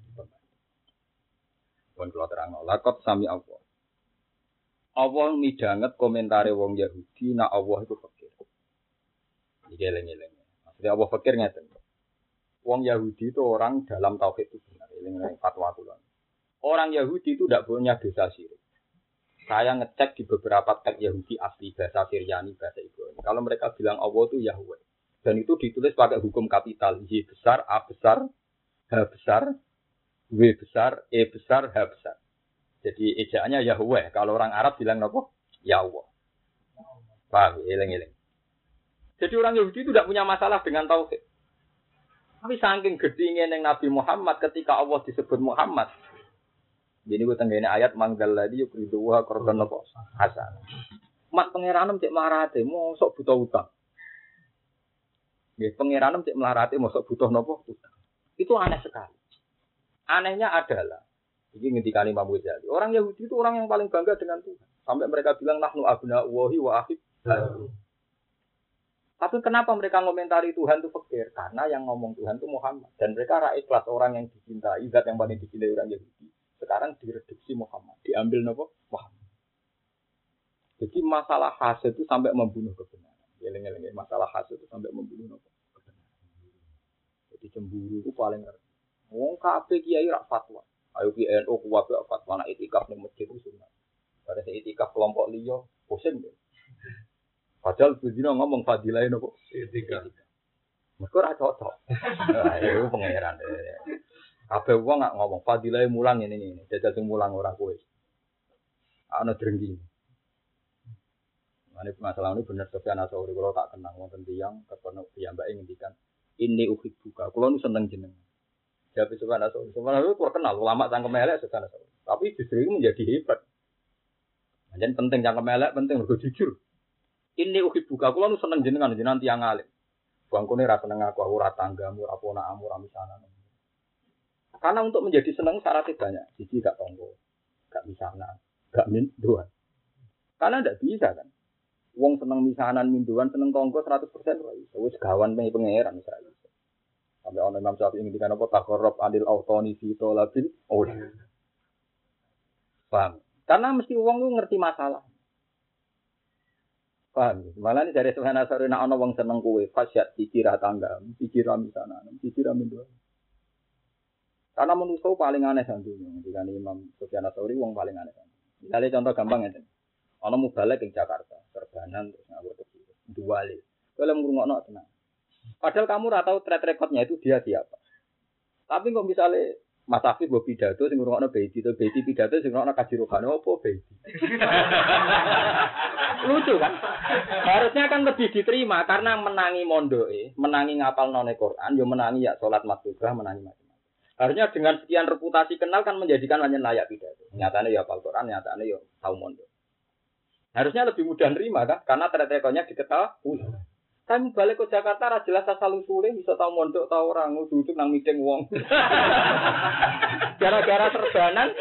Pun kula terangno. Lakot sami Allah. Allah midanget komentare wong Yahudi nak Allah itu fakir. Iki eling-eling. Maksudnya Allah fakir ngeten. Wong Yahudi itu orang dalam tauhid itu benar. Eling-eling fatwa kula. Orang Yahudi itu tidak punya dosa syirik. Saya ngecek di beberapa teks Yahudi asli bahasa Syriani, bahasa Ibrani. Kalau mereka bilang Allah itu Yahweh. Dan itu ditulis pakai hukum kapital. Y besar, A besar, H besar, W besar, E besar, H besar. Jadi ejaannya Yahweh. Kalau orang Arab bilang apa? Yahweh. Paham? Eleng-eleng. Jadi orang Yahudi itu tidak punya masalah dengan tauhid. Tapi saking gedingnya yang Nabi Muhammad ketika Allah disebut Muhammad. Jadi gue tenggene ayat manggal lagi yuk riduwa korban apa? Hasan. Mat pengiranem cek melarate, mosok butuh utang. Nggih, pengiranem cek melarate mosok butuh napa? Utang. Itu aneh sekali. Anehnya adalah ini ngendikane Imam Ghazali. Orang Yahudi itu orang yang paling bangga dengan Tuhan. Sampai mereka bilang nahnu abna'ullahi wa ahib. Tapi kenapa mereka ngomentari Tuhan itu fakir? Karena yang ngomong Tuhan itu Muhammad. Dan mereka rakyat kelas orang yang dicintai, zat yang paling dicintai orang Yahudi. Sekarang direduksi Muhammad. Diambil nopo Muhammad. Jadi masalah hasad itu sampai membunuh kebenaran. Geleng-geleng masalah hasad itu sampai membunuh nopo kebenaran. Jadi cemburu itu paling ngeri. Wong kabeh kiai rak fatwa. Ayo P N U kuat fatwa nak itikaf ning masjid itu sunat. Pada saat itikaf kelompok liya, pusing deh. Padahal bujino ngomong fadilah nopo itikaf. Mergo ora cocok. Nah, itu pangeran. Kabeh wong ngak ngomong fadilah mulang ini ini. Jajal sing mulang ora kowe. ana drengki. Mane masalah ini bener Sofyan Ats-Tsauri kalau tak kenang wonten tiyang kepono piyambake ngendikan ini uhibbuka. Kulo nu seneng jenengan. Jawab Sofyan Ats-Tsauri. Sofyan Ats-Tsauri terkenal ulama cangkem elek Sofyan Ats-Tsauri. Tapi justru itu menjadi hebat. Jadi penting cangkem elek, penting mergo jujur. Ini uhibbuka. Kulo nu seneng jenengan jenengan tiyang alim. Bangkune ra seneng aku ora tanggamu, ora ponakmu, ora misanan. Karena untuk menjadi seneng syaratnya banyak. Siji gak tonggo, gak misanan, gak minduan. Karena ndak bisa kan. Wong seneng misanan minduan seneng tonggo seratus persen ora iso. Wis gawan pengen pangeran misalnya. Sampai ana Imam Syafi'i ngendikan apa takarrab adil autoni fi talabil ul. Paham? Karena mesti wong ku ngerti masalah. Paham? Malah ini dari Sofyan Ats-Tsauri nek ana wong seneng kowe, fasyat dikira tangga, dikira misanan, dikira minduan. Karena manusia paling aneh santunya. Ketika Imam Sofyan Ats-Tsauri wong paling aneh. Misalnya contoh gampang ya. Ana mubalek ing Jakarta, serbanan terus ngawur kecil. Duwale. Kalau ngrungokno tenang. Padahal kamu ora tahu track recordnya itu dia siapa. Tapi kok misalnya Mas Afif mbok pidato sing ngrungokno Beiti to Beiti pidato sing ngrungokno Kaji Rohani opo Beiti. Lucu kan? Harusnya kan lebih diterima karena menangi mondoke, menangi ngapal none Quran, yo menangi ya salat maktubah, menangi macam-macam. Harusnya dengan sekian reputasi kenal kan menjadikan hanya layak pidato. Nyatane ya hafal Quran, nyatane ya tahu mondok. Harusnya lebih mudah nerima kan karena track-recordnya diketahui. Kan balik ke Jakarta ra jelas asal usule bisa tahu mondok tahu orang duduk nang meeting wong. Gara-gara serbanan.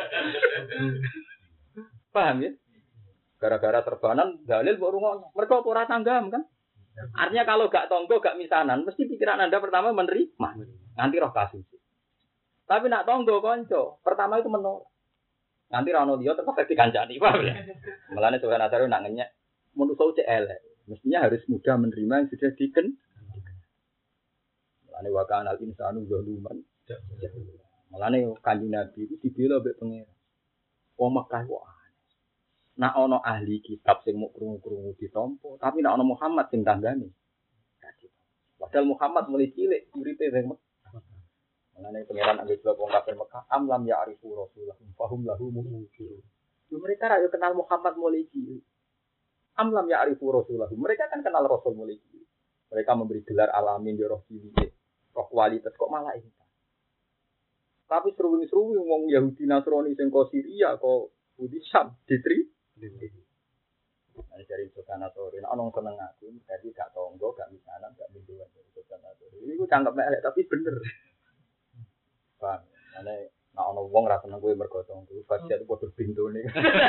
Paham ya? Gara-gara serbanan dalil mbok rungokno. Mergo ora tanggam kan? Artinya kalau gak tonggo gak misanan mesti pikiran Anda pertama menerima. Nanti roh kasus. Tapi nak tonggo konco, pertama itu menolak. Nanti ra ono liya terus dikancani, paham ya? Mulane Sofyan Ats-Tsauri nak ngenyek menungso cek elek. Mestinya harus mudah menerima yang sudah diken. Mulane wa kana al-insanu zaluman. Mulane Kanjeng Nabi itu dibela mbek pangeran. Wong Mekah kok aneh. Nak ana ahli kitab sing muk krungu-krungu ditampa, tapi nak ana Muhammad sing tanggane. Padahal Muhammad mulai cilik uripe ning Mekah. Mulane pangeran anggere wong kafir Mekah am lam ya'rifu Rasulullah fahum lahu munkirun. Mereka ra yo kenal Muhammad mulai cilik. Amlam ya arifu Rasulullah. Mereka kan kenal Rasul mulai cilik. Mereka memberi gelar alamin di roh cilik. Roh kualitas kok malah ini. Tapi seru-seru wong Yahudi Nasrani sing kok Syria kok Budi Syam ditri. Ana dari Sofyan Ats-Tsauri ana wong seneng aku, dadi gak tonggo, gak misanan, gak minduan dari Sofyan Ats-Tsauri. Iku cangkep elek tapi bener. Bang, ane nek ana wong ra seneng kowe mergo tonggo, fasya padha bintune.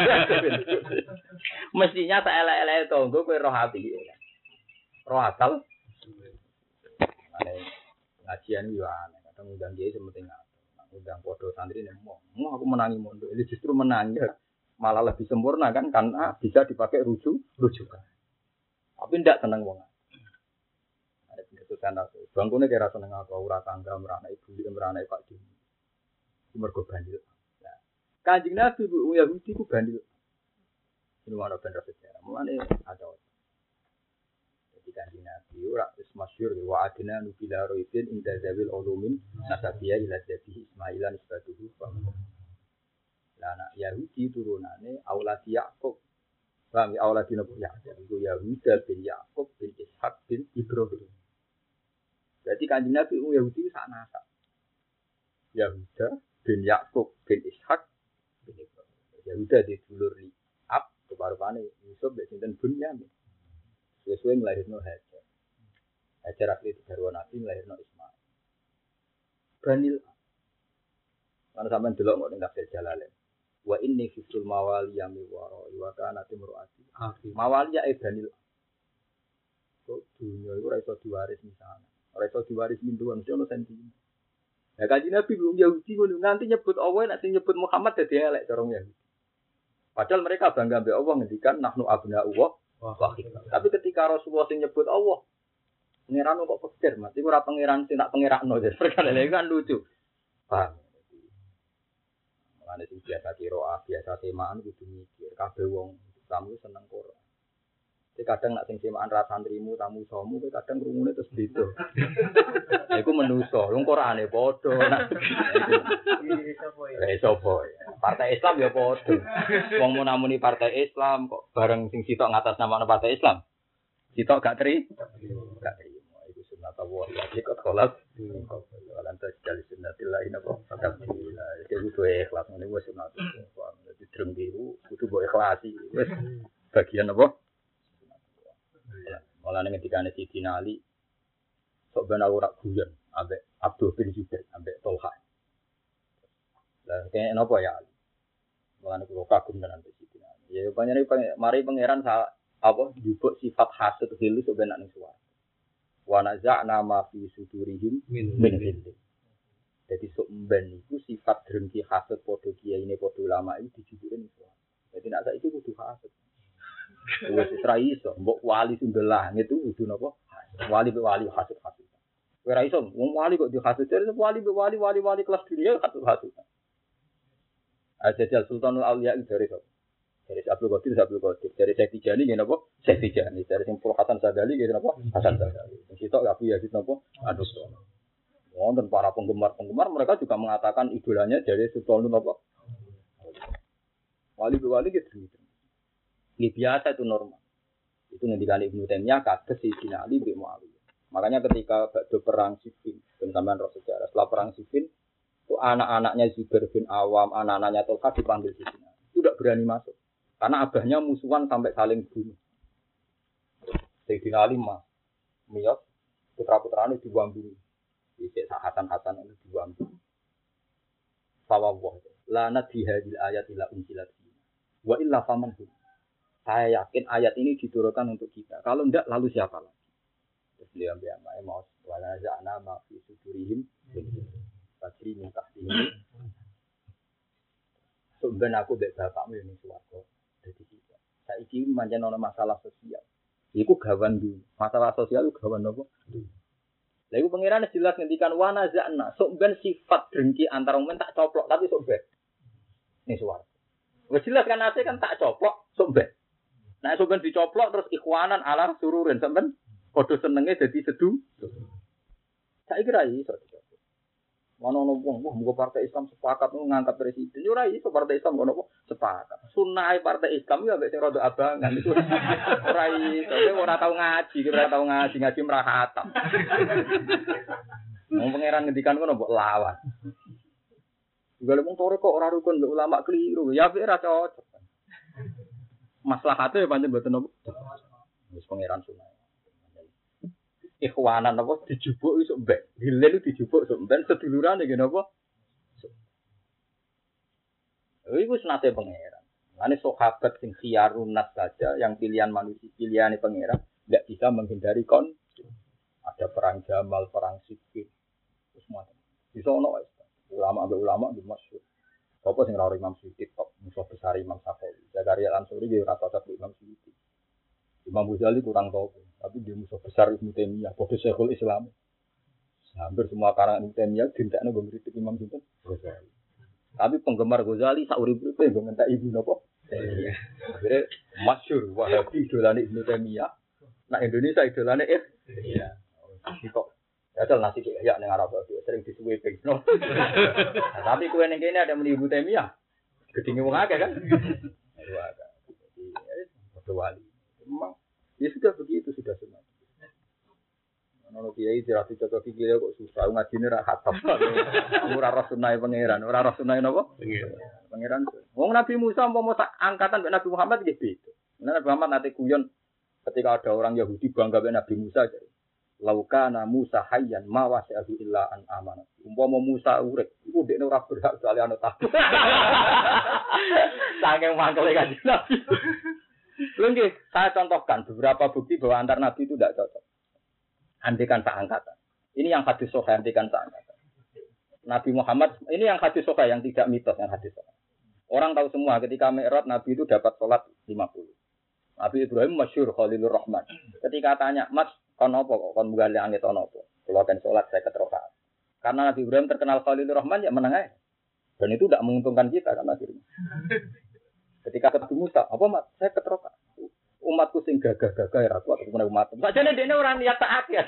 Mestinya tak elek-elek tonggo kowe roh ati. Roh akal. Ane ngajian yo aneh, kadang undang kiai sementing undang padha santri nek mau. Mau aku menangi mondok, ini justru menangi malah lebih sempurna kan karena bisa dipakai rujuk rujukan. Tapi ndak seneng wong. Ada pendetusan aku. Bangkune kira seneng aku ora tangga merana ibu merana Pak Di. Mergo bandil. Nah, Kanjeng Nabi Bu Yahudi ku bandil. Ini ana bener sejarah. Mulane ada. Jadi Kanjeng Nabi ora wis masyhur wa adna nubila roidin inda zawil ulumin nasabiya ila jadi Ismailan isbatuhu. Lah anak Yahudi turunane aulad Yakub. Bang aulad Nabi Yakub itu Yahuda bin Yakub bin Ishak bin Ibrahim. Jadi Kanjeng Nabi Yahudi sak nasab. Yahuda bin Yakub bin Ishak bin Ibrahim. Yahuda didulur Liab keparupane Yusuf ben sinten Bunyamin. Sesuai melahirno Hajar. Hajar asli garwa Nabi melahirno Ismail. Banil. Mana sampean delok kok ning tafsir Jalalain. Wa inni fisul mawali yami waro wa kana timruati akhi mawali ya banil. Kok dunya iku ora iso diwaris misalnya. Ora iso diwaris minduan mesti ono sentimen. Ya Kanjeng Nabi belum Yahudi ngono nganti nyebut Allah nek sing nyebut Muhammad dadi elek cara Yahudi. Padahal mereka bangga mbek Allah ngendikan nahnu abna'ullah wa akhirah. Tapi ketika Rasulullah sing nyebut Allah pangeran kok pikir mati ora pangeran sing tak pangerakno ya perkara lha kan lucu. Paham. Ane sing biasa kira biasa temaan kudu mikir kabeh wong kamu seneng Quran. Kadang nak sing semaan ra santrimu tamu somu kadang krungune terus beda. Lha iku menuso, wong Qur'ane padha nak. Eh sapa ya? Partai Islam ya padha. Wong munamuni partai Islam kok bareng sing sitok ngatasnamakan partai Islam. Sitok gak teri? Gak terima. Iku sunat Allah. Ya kok kholas. Lantas dari sunnatillah ini apa? Alhamdulillah. Jadi kudu ikhlas ngene wis sunat. Dadi dreng biru kudu mbok ikhlasi. Wis bagian apa? Malah ning ngendikane Sidina Ali sok ben ora guyon ambek Abdul bin Zubair ambek Tolha. Lah kene napa ya Ali? Malah niku kagum tenan Sidina Ali. Ya panjenengan mari pangeran apa njupuk sifat hasud hilu sok ben ning suwarga. Wa naza'na ma fi sudurihim min hilli. Jadi sok ben niku sifat drengki hasud padha kiyaine padha ulama iki dijupuke ning suwarga. Dadi nek saiki kudu hasud. Wis ora iso, mbok wali sundel langit itu kudu napa? Wali be wali hasud-hasud. Kowe ora iso, wong wali kok dihasud, terus wali be wali wali-wali kelas dunia hasud-hasud. Ajajal Sultanul Auliya dari sapa? Dari Abdul Qadir, Abdul Qadir. Dari Syekh Tijani ngene napa? Syekh Tijani. Dari Simpul Hasan Sadali ngene napa? Hasan Sadali. Sing sitok Abu Yazid napa? Aduh. Wonten para penggemar-penggemar mereka juga mengatakan idolanya dari Sultanul napa? Wali be wali gitu. Ini biasa itu normal. Itu ngendikane Ibnu Taimiyah kados Sayyidina Ali bin Muawiyah. Makanya ketika bakdo perang Siffin, sampean roh sejarah, setelah perang Siffin, itu anak-anaknya Zubair bin Awam, anak-anaknya Tolha dipanggil Sayyidina. Itu tidak berani masuk. Karena abahnya musuhan sampai saling bunuh. Sayyidina Ali mah miyos putra-putrane dibuang bunuh. Dhisik Hasan-Hasan itu dibuang bunuh. Fawwah. La nadhi hadil ayat ila unsilat. Wa illa faman hum. Saya yakin ayat ini diturunkan untuk kita. Kalau tidak, lalu siapa lagi? Terus beliau bilang, "Mau wala za'na ma fi sudurihim fajri min tahtihim." Sebenarnya aku mbek bapakmu ini swarga. Dadi kita. Saiki pancen ana masalah sosial. Iku gawan dulu. Masalah sosial itu gawan apa? Lha iku pangeran jelas ngendikan wa naza'na. Sok ben sifat drengki antar wong tak coplok tapi sok ben. Ning swarga. Wis jelas kan ate kan tak coplok sok ben. Nah, sampeyan dicoplok terus ikhwanan ala sururin sampeyan padha senenge dadi sedu. Saiki ra iso. Ono wong wah muga partai Islam sepakat ngangkat presiden. Yo ora iso partai Islam ngono kok sepakat. Sunah partai Islam yo ambek sing rada abangan iku ora iso. Ora tau ngaji, ora tau ngaji, ngaji merah khatam. Wong pangeran ngendikan ngono mbok lawan. Juga wong tore kok ora rukun mbek ulama keliru. Ya wis ora cocok. Maslahate pancen mboten napa. Wis pangeran sunah. Ikhwanan apa dijupuk iso mbek. Hilal dijupuk iso mbek sedulurane nggih napa? Iku sunate pangeran. Mane sahabat sing khiyarun nas saja yang pilihan manusia pilihane pangeran enggak bisa menghindari kon. Ada perang Jamal, perang Siffin. Terus macam. Bisa ono ulama ambek ulama di masyhur. Apa sing ora Imam Suyuti top musuh besar Imam Syafi'i. Zakaria Al-Ansori dia rasa cocok Imam Suyuti. Imam Ghazali kurang tahu, tapi dia musuh besar Ibnu Taimiyah, padha Syekhul Islam. Hampir semua karangan Ibnu Taimiyah dintekno nggo ngritik Imam sinten Ghazali. Tapi penggemar Ghazali sak urip-uripe nggo ngentek Ibnu napa? Taimiyah. Akhire masyhur Wahabi idolane Ibnu Taimiyah. Nah Indonesia idolane eh iya. Kok Padahal nasi kayak ning Arab itu sering disuwe ping. No. Nah, tapi kowe ning kene ada menibu Taimiyah. Gedinge wong akeh kan? Aduh ada. Jadi padha wali. Memang ya sudah begitu sudah sunat. Ono kiai dirati cocok iki kok susah ngajine ra khatam. Ora roh sunah pangeran, ora roh sunah napa? Pangeran. Wong Nabi Musa umpama angkatan mbek Nabi Muhammad nggih beda. Nabi Muhammad nate guyon ketika ada orang Yahudi bangga mbek Nabi Musa jadi. Laukana Musa hayyan ma wasi'ahu illa an amana. Umpama Musa urip, iku dekne ora berhak soal ana takut. Saking mangkele kan Nabi. Lho nggih, saya contohkan beberapa bukti bahwa antar nabi itu tidak cocok. Andikan sak angkatan. Ini yang hadis sahih andikan sak angkatan. Nabi Muhammad, ini yang hadis sahih yang tidak mitos yang hadis sahih. Orang tahu semua ketika Mi'raj Nabi itu dapat salat lima puluh. Nabi Ibrahim masyhur Khalilur Rahman. Ketika tanya, "Mas, kon apa kok kon munggali langit ana apa?" Kula kan salat saya keterokaan. Karena Nabi Ibrahim terkenal Khalilur Rahman ya meneng ae. Dan itu tidak menguntungkan kita kan akhirnya. Ketika ketemu Musa, "Apa, Mas? Saya keterokaan. Umatku sing sing gagah-gagah ora kuat kemene umat. Sakjane dene ora niat taat ya.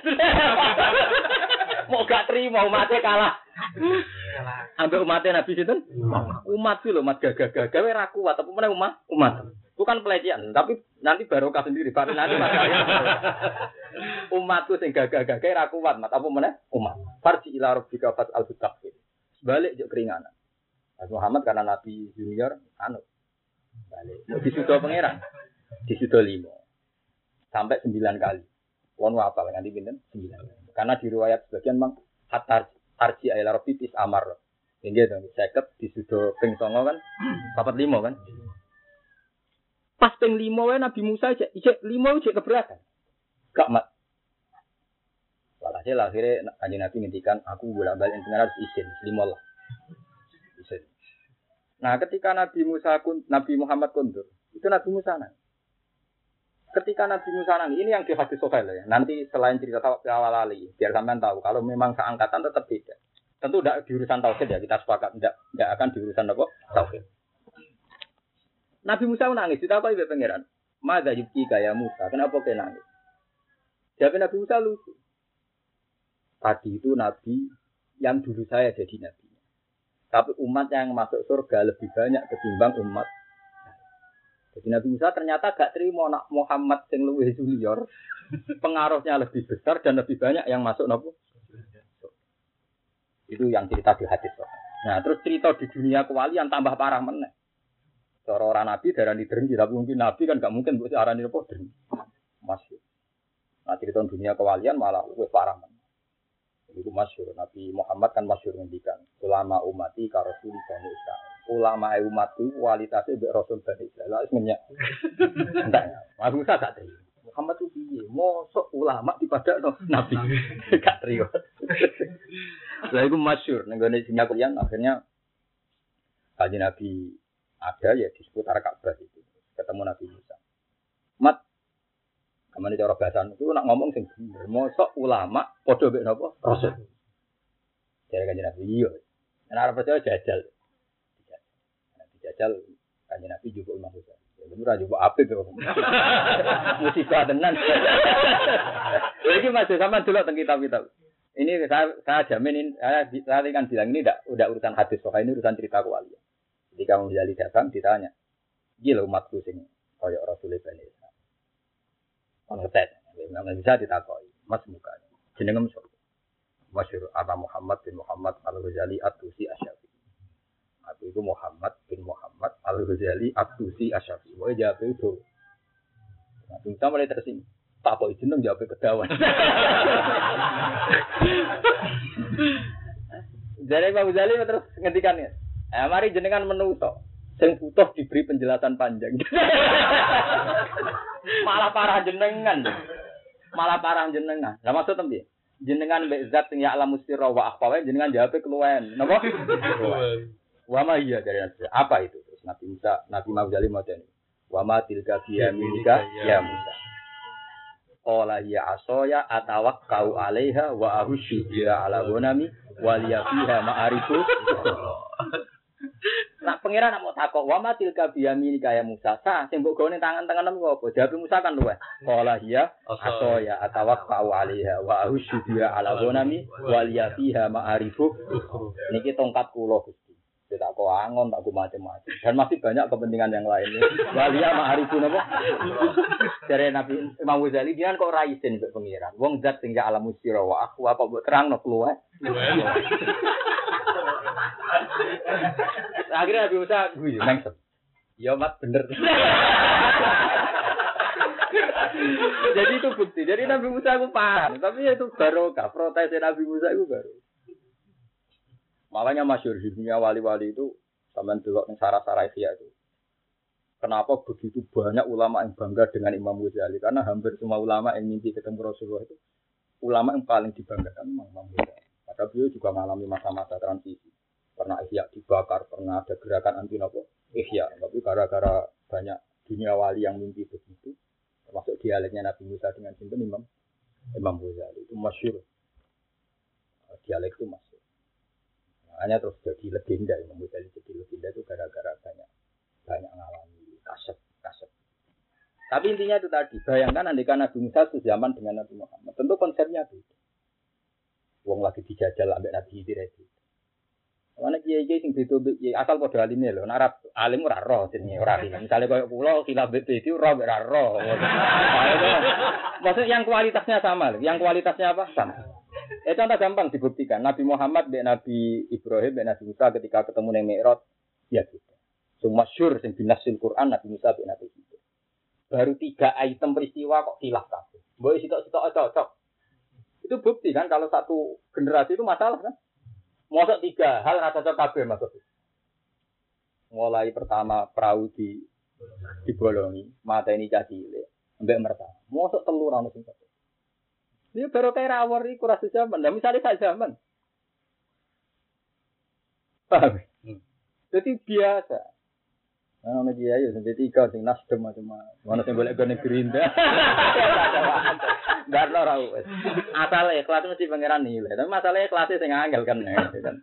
Mau gak terima umatnya kalah. Ambek umatnya Nabi sinten? Umat itu lho, umat gagah-gagah ora kuat apa meneh umat? Umat. Bukan pelecehan, tapi nanti barokah sendiri. Baru nanti masalahnya. Umatku sing gagah-gagah ora kuat, mat apa meneh? Umat. Farji ila rabbika fat al-taqfir. Balik juk keringanan. Nabi Muhammad karena Nabi junior anu. Balik. Disudo pangeran. Disudo lima. Sampai sembilan kali. Wong hafal nganti pinten? sembilan. Karena di riwayat sebagian mang hatar tarji ila rabbika is amar. Nggih to, seket disudo ping songo kan papat lima kan. Pas ping lima wae Nabi Musa cek cek lima cek keberatan. Gak mat. Walhasil akhirnya kanjeng Nabi ngendikan aku bolak-balik pengen harus izin lima lah. Izin. Nah, ketika Nabi Musa kun, Nabi Muhammad kundur, itu Nabi Musa nang. Ketika Nabi Musa nang, ini yang di hadis Sahih ya. Nanti selain cerita awal ali, biar sampean tahu kalau memang seangkatan tetap beda. Tentu tidak di urusan tauhid ya, kita sepakat tidak tidak akan di urusan apa? Tauhid. Nabi Musa nangis, ditakoki ibu pangeran. Madza yubki kaya Musa, kenapa kau nangis? Jawab Nabi Musa lucu. Tadi itu Nabi yang dulu saya jadi Nabi. Tapi umat yang masuk surga lebih banyak ketimbang umat. Jadi Nabi Musa ternyata gak terima nak Muhammad yang lebih junior. Pengaruhnya lebih besar dan lebih banyak yang masuk nopo. Itu yang cerita di hadis. Nah terus cerita di dunia kewalian tambah parah meneh. Cara orang Nabi darah di dengki, tapi mungkin Nabi kan gak mungkin buat arah ini apa dengki. Masih. Nah cerita dunia kewalian malah lebih parah meneh. Itu masyhur Nabi Muhammad kan masyhur ngendikan ulama umati ka rasul Bani Israil. Ulama umatku kualitasnya mbek rasul Bani Israil. Wis ngenyak. Entek. Aku Musa gak terima. Muhammad itu piye? Mosok ulama dipadakno nabi. Gak terima. Lah iku masyhur ning gone dunia kalian akhirnya kaji Nabi ada ya di seputar Ka'bah itu. Ketemu Nabi Musa. Mat Kamane cara bahasan itu nak ngomong sing bener. Mosok ulama padha mek napa? Rasul. Jare kanjeng Nabi iya. Nek arep percaya jajal. Dijajal kanjeng Nabi juga Imam Musa. Ya bener aja kok apik to. Musibah tenan. Iki masih sama dulu tentang kitab-kitab. Ini saya, saya jamin ini saya, saya kan bilang ini tidak udah urusan hadis pokoknya ini urusan cerita kuali. Ketika Imam Ghazali datang ditanya, "Iki lho umatku sing kaya Rasul Bani Israil." Ngetet, nggak bisa ditakoki. Mas muka, jenengem sapa? Masyhur Aba Muhammad bin Muhammad Al-Ghazali At-Tusi Asy-Syafi'i. Aku itu Muhammad bin Muhammad Al-Ghazali At-Tusi Asy-Syafi'i. Wae jawab itu. Nah, kita mulai tersinggung. Tak kok jeneng jawab kedawan. Jadi Pak Ghazali terus ngendikan ya. Eh, mari jenengan menuso. Sing butuh diberi penjelasan panjang. Malah parah jenengan. Malah parah jenengan. Lah maksud tembe? Jenengan mbek zat sing ya alam mustira wa akhfa jenengan jawabe keluwen. Napa? Wa ma iya dari Nabi. Apa itu? Terus Nabi Musa, Nabi Ghazali modern. Wa ma tilka biyaminika ya Musa. Qala ya asoya atawakkau alaiha wa ahusyu biha ala ghanami wa liya fiha ma'arifu. Nak pangeran nak mau takok wa matil kabiyami kaya Musa sa sing mbok gawe tangan-tanganem kok apa jawab Musa kan luweh qala hiya asoya atawakkau alaiha wa ahusyu biha ala ghanami wa liya fiha ma'arifu. Niki tongkat kula Gusti. Tak kok angon tak kok macam-macam dan masih banyak kepentingan yang lainnya. Wa liya ma'arifu napa? Jare Nabi Imam Ghazali dia kok ra isin mbek pangeran. Wong zat sing ya alam musira wa aku apa mbok terangno luweh. Akhirnya Nabi Musa gue mengsem. Ya mat bener. Jadi itu bukti. Jadi Nabi Musa itu paham. Tapi itu barokah. Protes Nabi Musa itu baru. Makanya masyhur di dunia wali-wali itu sampean delok ning sarah-sarah Ihya itu. Kenapa begitu banyak ulama yang bangga dengan Imam Ghazali? Karena hampir semua ulama yang mimpi ketemu Rasulullah itu ulama yang paling dibanggakan memang Imam Ghazali. Padahal beliau juga mengalami masa-masa transisi. Pernah Ihya dibakar, pernah ada gerakan anti nopo Ihya. Tapi gara-gara banyak dunia wali yang mimpi begitu, termasuk dialeknya Nabi Musa dengan sinten Imam Imam Ghazali itu masyhur. Dialek itu masyhur. Hanya terus jadi legenda Imam Ghazali jadi legenda itu gara-gara banyak banyak mengalami kasep kasep. Tapi intinya itu tadi, bayangkan andaikan Nabi Musa sezaman dengan Nabi Muhammad. Tentu konsepnya beda. Wong lagi dijajal ambek Nabi Khidir itu. Mana kiai-kiai sing beda asal padha alime lho, nek Arab alim ora roh jenenge ora alim. Misale koyo kula khilaf beda ora ora roh. Maksud yang kualitasnya sama lho, yang kualitasnya apa? Sama. Eh contoh gampang dibuktikan. Nabi Muhammad mbek Nabi Ibrahim mbek Nabi Musa ketika ketemu ning Mi'raj ya gitu. Sing masyhur sing binasil Quran Nabi Musa mbek Nabi Khidir. Baru tiga item peristiwa kok khilaf kabeh. Mbok sitok-sitok cocok. Itu bukti kan kalau satu generasi itu masalah kan? Mosok tiga hal rasa cocok kabeh maksud. Mulai pertama perahu di dibolongi, mateni caci cilik, mbek merta. Mosok telu ra ono sing cocok. Dia baru kayak rawor iku rasa zaman. Lah misale sak zaman. Paham? Hmm. Jadi biasa. Nah, ono dia ya sampai tiga sing nasdem macam-macam. Ono sing golek gone Gerindra. Enggak ora wis. Asal ikhlas mesti pangeran nilai. Tapi masalahnya kelasnya sing angel kan kan.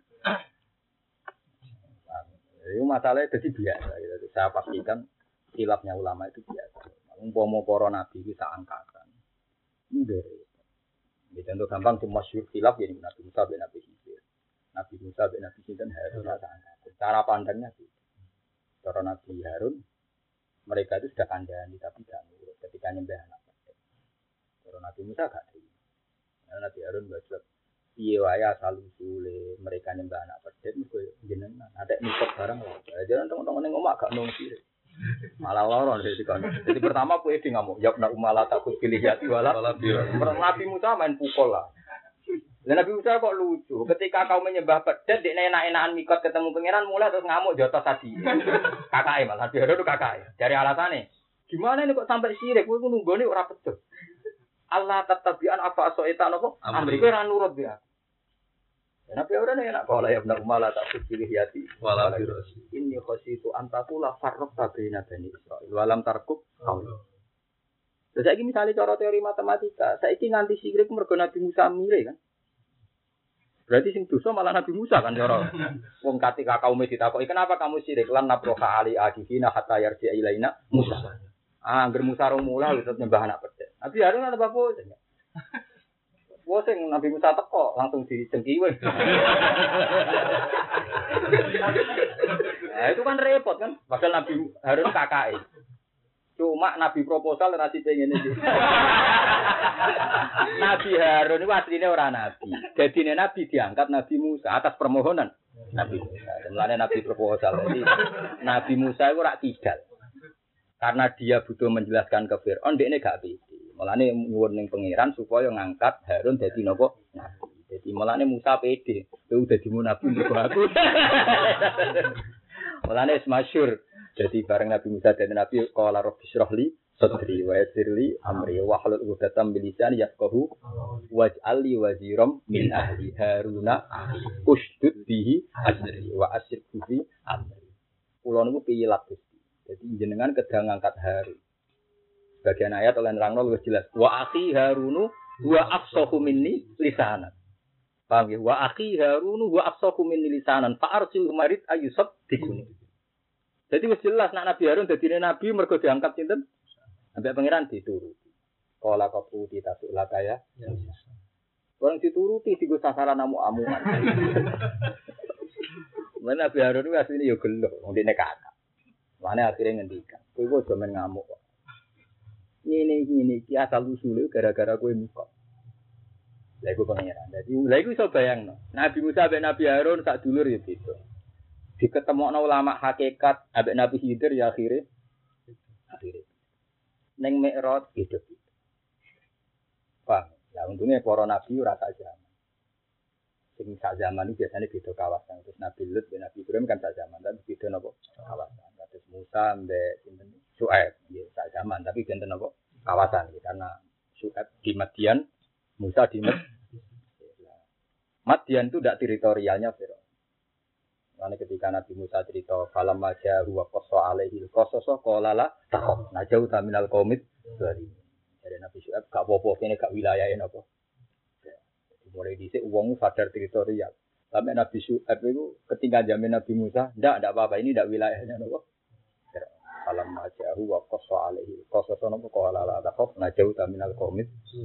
Itu masalahnya jadi biasa gitu. Saya pastikan khilafnya ulama itu biasa. Umpama para nabi iki sak angkatan. Nggih. Ini contoh gampang cuma masyhur khilaf ya Nabi Musa bin Nabi Khidir. Nabi Musa bin Nabi Khidir harus sak angkatan. Cara pandangnya gitu. Cara Nabi Harun, mereka itu sudah kandhani tapi tidak nurut ketika nyembah anak pedet. Cara Nabi Musa gak terima. Karena Nabi Harun berjawab, piye wae asal usule mereka nyembah anak pedet mergo jenengan ada mikot barang lah. Jangan teman-teman ning omah gak nung sire. Malah loro dari kono. Jadi pertama kowe iki ngamuk, ya nak umala takut pilih ya wala. Nabi Musa main pukul lah. Dan Nabi Musa kok lucu. Ketika kau menyembah pedet, dia enak-enakan mikot ketemu pangeran mulai terus ngamuk jotos tadi. Kakak malah Nabi Harun itu kakak. Dari alasannya, gimana ini kok sampai sirik? Gue nunggu nih orang pedet. Allah tetabian apa asoitan apa? Amri gue ran nurut dia. Nabi Harun enak kalau ya benar malah tak pilih hati. Walau ini khosi itu antakulah farrok tabina bani Israil. Walam tarkub kau. Terus lagi misalnya cara teori matematika, saya ini nganti sirik mergo Nabi Musa mirip kan? Berarti sing dosa malah Nabi Musa kan cara. Wong ketika kaum ditakoki, "Kenapa kamu sirik lan nabroha ali adihina hatta yarji ilaina Musa?" Ah, angger Musa rong mula wis nyembah anak pedet. Nabi Harun ana apa? Wong sing Nabi Musa teko langsung dicengkiwe. Nah, itu kan repot kan? Padahal Nabi Harun kakake. Cuma Nabi proposal nasi pengen ini. Nabi Harun itu aslinya orang Nabi. Jadi Nabi diangkat Nabi Musa atas permohonan Nabi Musa. Mulanya Nabi proposal. Jadi Nabi Musa itu rak tidak. Karena dia butuh menjelaskan ke Fir'aun, dia ini gak bisa. Mulanya nyuwun ning pangeran supaya ngangkat Harun jadi nopo Nabi. Jadi mulanya Musa pede. Itu udah dimu Nabi untuk aku. Mulanya masyhur. Jadi bareng Nabi Musa dan Nabi qala rabbi shrah li sadri wa yassir li amri wa hlul 'uqdatam min lisani yafqahu waj'al li waziram min ahli Haruna ushdud bihi azri wa asyirku fi amri. Kula niku piyelat Gusti. Jadi jenengan kedang ngangkat Harun. Bagian ayat oleh nerangno luwih jelas. Wa akhi Harunu wa afsahu minni lisanan. Paham ya? Wa akhi Harunu wa afsahu minni lisanan fa arsil marid ayusab dikuni. Jadi wis jelas nak Nabi Harun dadine nabi mergo diangkat sinten? Ambek pangeran dituruti. Kala kaputi tasuk lakaya. Orang dituruti digo sasaran amu-amuan. Mana Nabi Harun itu asline yo gelo, wong dene kakak. Mane akhirnya ngendikan, kowe kok aja men ngamuk kok. Ngene ngene iki asal usule gara-gara kowe mikot. Lha iku pangeran. Dadi lha iku iso bayangno. Nabi Musa ambek Nabi Harun sak dulur ya beda. Diketemokno ulama hakikat ambek Nabi Khidir ya akhire akhire ning Mi'raj hidup. Paham? Lah untune para nabi ora sak zaman. Sing sak zaman iki biasane beda kawasan. Terus Nabi Lut dan Nabi Ibrahim kan sak zaman, tapi beda napa kawasan. Terus Musa ambek sinten Syuaib nggih sak zaman, tapi benten napa kawasan iki karena Syuaib di Madian, Musa di Madian. Madian itu ndak teritorialnya Firaun. Karena ketika Nabi Musa cerita falam maja huwa qassa alaihi qasasa qala la taqaf najau taminal qaumit dari dari Nabi Syuaib gak apa-apa kene gak wilayahe napa. Mulai dhisik wong sadar teritorial. Sampai Nabi Syuaib itu ketika jamin Nabi Musa ndak ndak apa-apa ini ndak wilayahnya napa. falam majahu wa qassa alaihi qasasa napa qala la takhaf najau minal qaumit.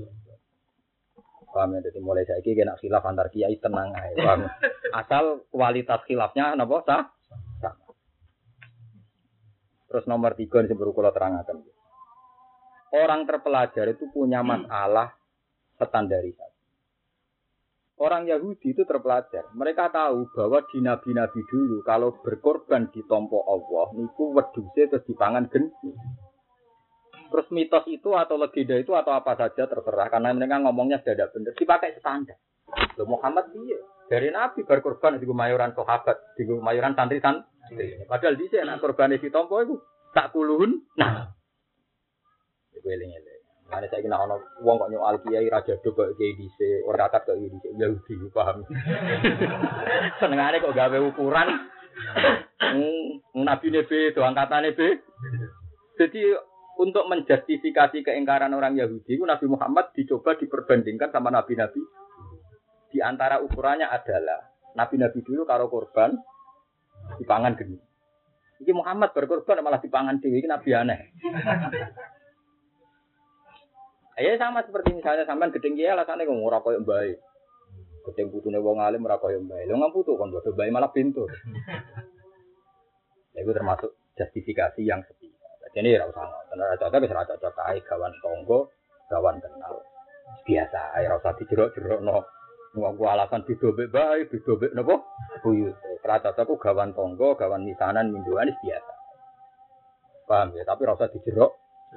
Paham ya, jadi mulai saiki kena khilaf antar kiai tenang ae, paham. Asal kualitas khilafnya napa sah? Sama. Terus nomor tiga yang sebelum kula terangaken. Orang terpelajar itu punya masalah standarisasi. Orang Yahudi itu terpelajar. Mereka tahu bahwa di nabi-nabi dulu kalau berkorban di tompo Allah niku wedhuse terus dipangan geni. Terus mitos itu atau legenda itu atau apa saja terserah karena mereka ngomongnya sudah tidak benar dipakai standar. Loh Muhammad dia dari nabi berkorban di gumayuran sahabat, di gumayuran santri-santri. Padahal dhisik nek korban di tompo itu tak kuluhun. Nah. Iku eling-eling. Mane saiki nek ana wong kok nyoal kiai raja do kok kiai dhisik, ora kakat kok dhisik Yahudi paham. Senengane kok gawe ukuran. Hmm, nabi nebe do angkatane be. Jadi untuk menjustifikasi keingkaran orang Yahudi, Nabi Muhammad dicoba diperbandingkan sama nabi-nabi. Di antara ukurannya adalah nabi-nabi dulu karo korban dipangan geni. Iki Muhammad berkorban malah dipangan dhewe iki nabi aneh. Ya sama seperti misalnya sampean gedeng kiai alasane kok ora koyo mbae. Gedeng putune wong alim ora koyo mbae. Lho ngamputu kon bodo mbae malah pintu. Ya itu termasuk justifikasi yang sepi. Jadi ora usah ngoten. Ora cocok wis ora cocok ae gawan tangga, gawan kenal. Biasa ae ora usah dijerok-jerokno. Wong ku alasan beda mbek bae, beda mbek napa? Buyut. Ora cocok ku gawan tangga, gawan misanan minduan biasa. Paham ya, tapi ora usah dijerok.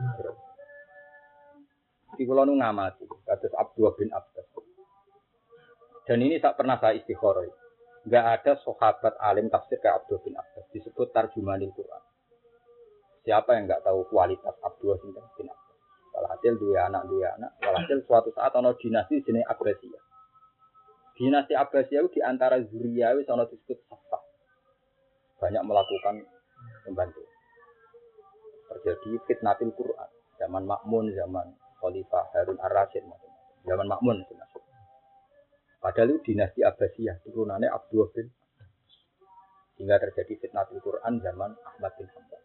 Di kula nu ngamati kados Abdullah bin Abbas. Dan ini tak pernah saya istikharah. Enggak ada sahabat alim tafsir kayak Abdullah bin Abbas disebut tarjumanil Quran. Siapa yang enggak tahu kualitas Abdullah bin Abbas? Walhasil dua anak dua anak. Walhasil suatu saat ana dinasti jenenge Abbasiyah. Dinasti Abbasiyah itu di antara zuriyah wis ana disebut Safah. Banyak melakukan pembantu. Terjadi fitnatul Quran zaman Makmun, zaman Khalifah Harun Ar-Rasyid macam-macam. Zaman Makmun itu masuk. Padahal itu dinasti Abbasiyah, turunannya Abdullah bin hingga terjadi fitnatul Quran zaman Ahmad bin Hanbal.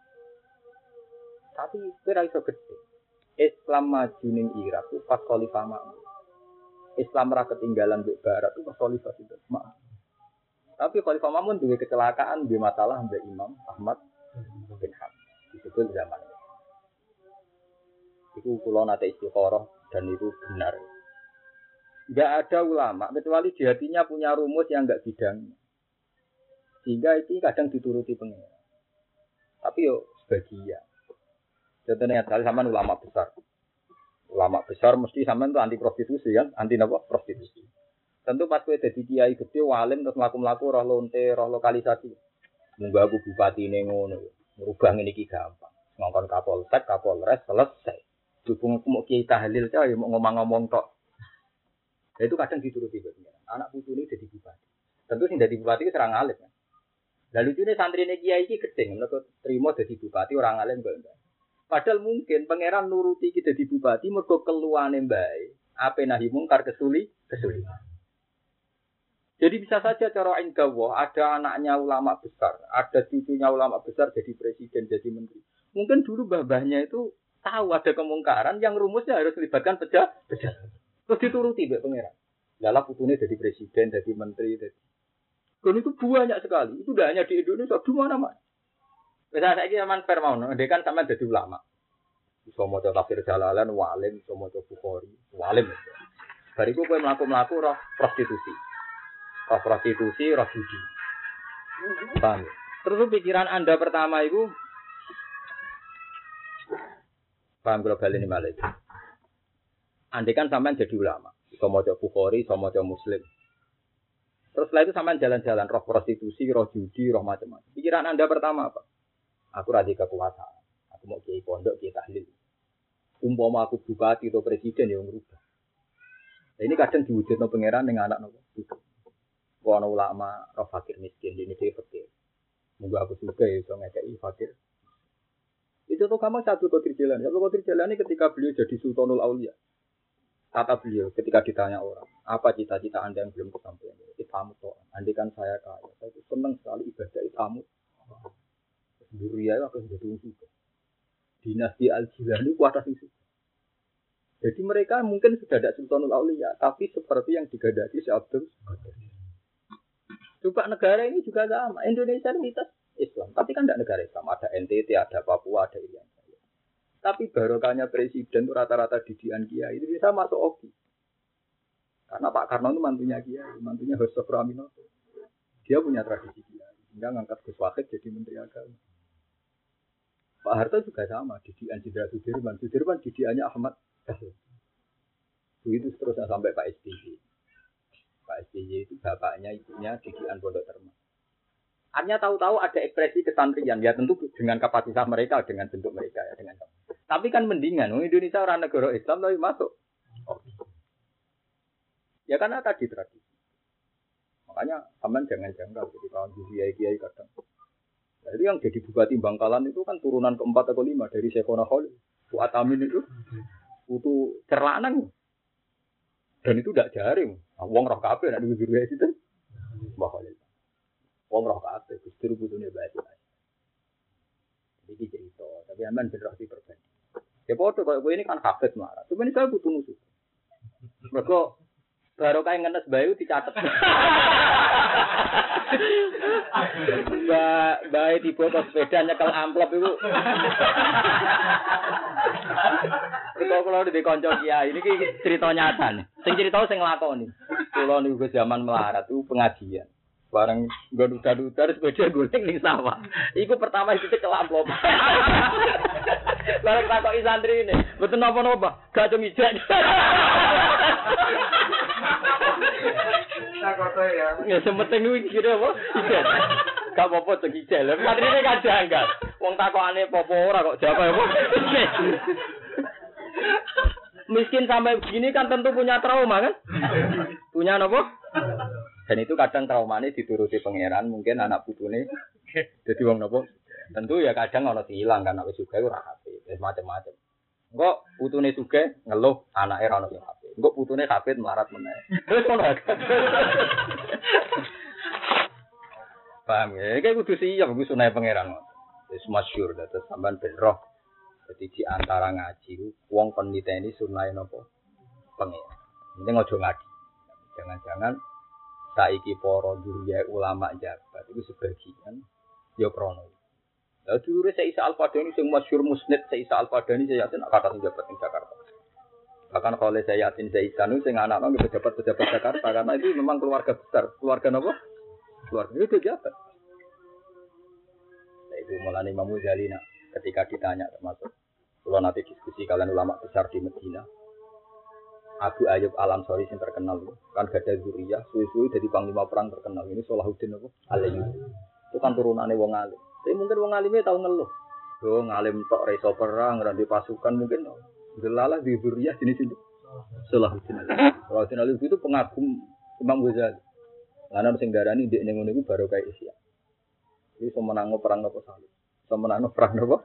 Tapi kira iso gede. Islam maju ning Irak itu pas Khalifah Makmun. Islam ra ketinggalan di barat itu pas Khalifah itu Makmun. Tapi Khalifah Makmun duwe kecelakaan, duwe masalah mbek Imam Ahmad bin Hanbal. Disebut zaman itu. Itu kula nate istikharah dan itu benar. Enggak ada ulama kecuali di hatinya punya rumus yang enggak bidangnya. Sehingga itu kadang dituruti pengira. Tapi yo sebagian. Contohnya kali sampean ulama besar. Ulama besar mesti sampean tuh anti prostitusi kan, anti napa? Prostitusi. Tentu pas kowe dadi kiai gede walim terus mlaku-mlaku roh lonte, roh lokalisasi. Munggah aku bupatine ngono. Merubah ngene iki gampang. Ngongkon Kapolsek, Kapolres selesai. Dukung mau kiai tahlil cah ya mau ngomong-ngomong tok. Ya itu kadang dituruti bener. Anak putu ini jadi bupati. Tentu sing dadi bupati itu serang alim kan. Lah lucune santrine kiai iki gedeng mergo trimo dadi bupati orang alim kok enggak. Padahal mungkin pangeran nuruti iki dadi bupati mergo keluane mbae. Ape nahi mungkar kesuli, kesuli. Jadi bisa saja cara inggawa ada anaknya ulama besar, ada cucunya ulama besar jadi presiden, jadi menteri. Mungkin dulu mbah-mbahnya itu tahu ada kemungkaran yang rumusnya harus melibatkan pejabat. Terus dituruti mbek pangeran. Lalah putune jadi presiden, jadi menteri, jadi. Dan itu banyak sekali. Itu tidak hanya di Indonesia, di mana-mana. Misalnya saya ini aman permauan, dia kan sama jadi ulama. Bisa mau tafsir Jalalan, walim, bisa mau Bukhari, walim. Bariku gue melaku-melaku roh prostitusi. Roh prostitusi, roh judi. Paham? Terus pikiran Anda pertama itu paham global ini malah itu. Andai kan sampean jadi ulama, iso maca Bukhari, iso maca Muslim. Terus setelah itu sampean jalan-jalan roh prostitusi, roh judi, roh macam-macam. Pikiran Anda pertama apa? Aku radhi kekuasaan. Aku mau kiai pondok, kiai tahlil. Umpama aku bupati atau presiden yang merubah. Nah, ini kadang diwujudno pangeran dengan anak nopo. Ana ulama roh fakir miskin, ini dia fakir. Moga aku suka iso ngekeki fakir. Itu tuh kamu satu Qadir Jailani. Satu Qadir Jailani ketika beliau jadi Sultanul Aulia. Kata beliau ketika ditanya orang, apa cita-cita Anda yang belum kesampaian? Itamu toh. Andai kan saya kaya, saya itu senang sekali ibadah itamu. Zuriyah akeh dadi suka. Dinasti Al-Jilani kuat sing suka. Jadi mereka mungkin sudah ada Sultanul Auliya, tapi seperti yang digadaki Syekh Abdul Qadir. Coba negara ini juga sama. Indonesia ini mitos Islam, tapi kan tidak negara Islam. Ada N T T, ada Papua, ada Irian Jaya. Tapi barokahnya presiden itu rata-rata didikan kiai itu bisa masuk O K I. Karena Pak Karno itu mantunya kiai, mantunya Hosok Raminoto. Dia punya tradisi kiai. Hingga ngangkat Gus Wahid jadi menteri agama. Pak Harto juga sama, didikan Jenderal Sudirman. Sudirman didikannya Ahmad Dahlan. Begitu seterusnya sampai Pak S B Y. Pak S B Y itu bapaknya, ibunya didikan Pondok Terma. Artinya tahu-tahu ada ekspresi kesantrian, ya tentu dengan kapasitas mereka, dengan bentuk mereka ya, dengan. Tapi kan mendingan, Indonesia orang negara Islam tapi masuk. Oh. Ya karena tadi tradisi. Makanya aman jangan janggal jadi kawan kiai-kiai kadang. Jadi yang jadi bupati Bangkalan itu kan turunan keempat atau lima dari Syekhona Khalil. Fuad Amin itu itu cerlanang. Dan itu tidak jaring. Wong roh kabeh nek guru kiai itu. Mbah Khalil. Wong roh kabeh Gusti putune bae. Iki cerita, tapi aman berarti berbeda. Ya foto kalau ini kan hafid marah. Sebenarnya saya butuh musuh. Mereka baru kayak ngenes bayu dicatat. Mbak, bayi tiba ke sepeda nyekel amplop itu. Kalau kalau di konco kiai ini cerita nyata nih. Sing cerita sing nglakoni. Kalau niku zaman melarat itu pengajian. Bareng gaduh-gaduh sepeda golek ning sawah. Iku pertama dicekel amplop. Bareng takoki santri ini, mboten napa-napa, gak cung ijek. Takoke ya. Ya sementing kuwi kira apa? Ijek. Gak apa-apa cung ijek. Lah santrine kan janggal. Wong takokane apa ora kok jawab apa? Miskin sampai begini kan tentu punya trauma kan? Punya apa? Dan itu kadang traumanya dituruti pangeran, mungkin anak putune jadi wong napa? Tentu ya kadang ana hilang kan wis sugih ora hafid, wis macam-macam. Engko putune sugih ngeluh anake ora ono sing hafid. Engko putune hafid melarat meneh. Wis ngono. Paham ya? Iki kudu siap kudu sunah pangeran. Wis masyhur dados sampean ben roh. Dadi di antara ngaji wong kon niteni sunah napa? Pangeran. Penting aja ngaji. Jangan-jangan saiki para dulur ulama jabat itu sebagian ya krono. Lah dulure Syekh Isa Al-Fadani sing masyhur musnid Syekh Isa Al-Fadani saya yakin kata sing jabat ning Jakarta. Bahkan kalau saya yakin Syekh Isa nu sing anak-anak nggih pejabat-pejabat Jakarta karena itu memang keluarga besar. Keluarga napa? Keluarga itu jabat. Nah, itu mulane Imam Ghazali nak ketika ditanya termasuk kalau nanti diskusi kalian ulama besar di Medina. Abu Ayyub Al-Ansari yang terkenal kan gak ada zuriyah, suwi-suwi jadi panglima perang terkenal. Ini Salahuddin apa? Al-Ayyubi. Itu kan turunannya wong alim. Tapi mungkin wong alimnya tahu ngeluh. Yo ngalim tok reso perang, ora di pasukan mungkin. Delalah di zuriyah jenis itu. Salahuddin Al-Ayyubi. Salahuddin Al-Ayyubi itu pengagum Imam Ghazali. Lan sing darani ndek ning ngene iku baru kae Isya. Iki semenango perang apa salib. Semenango perang apa?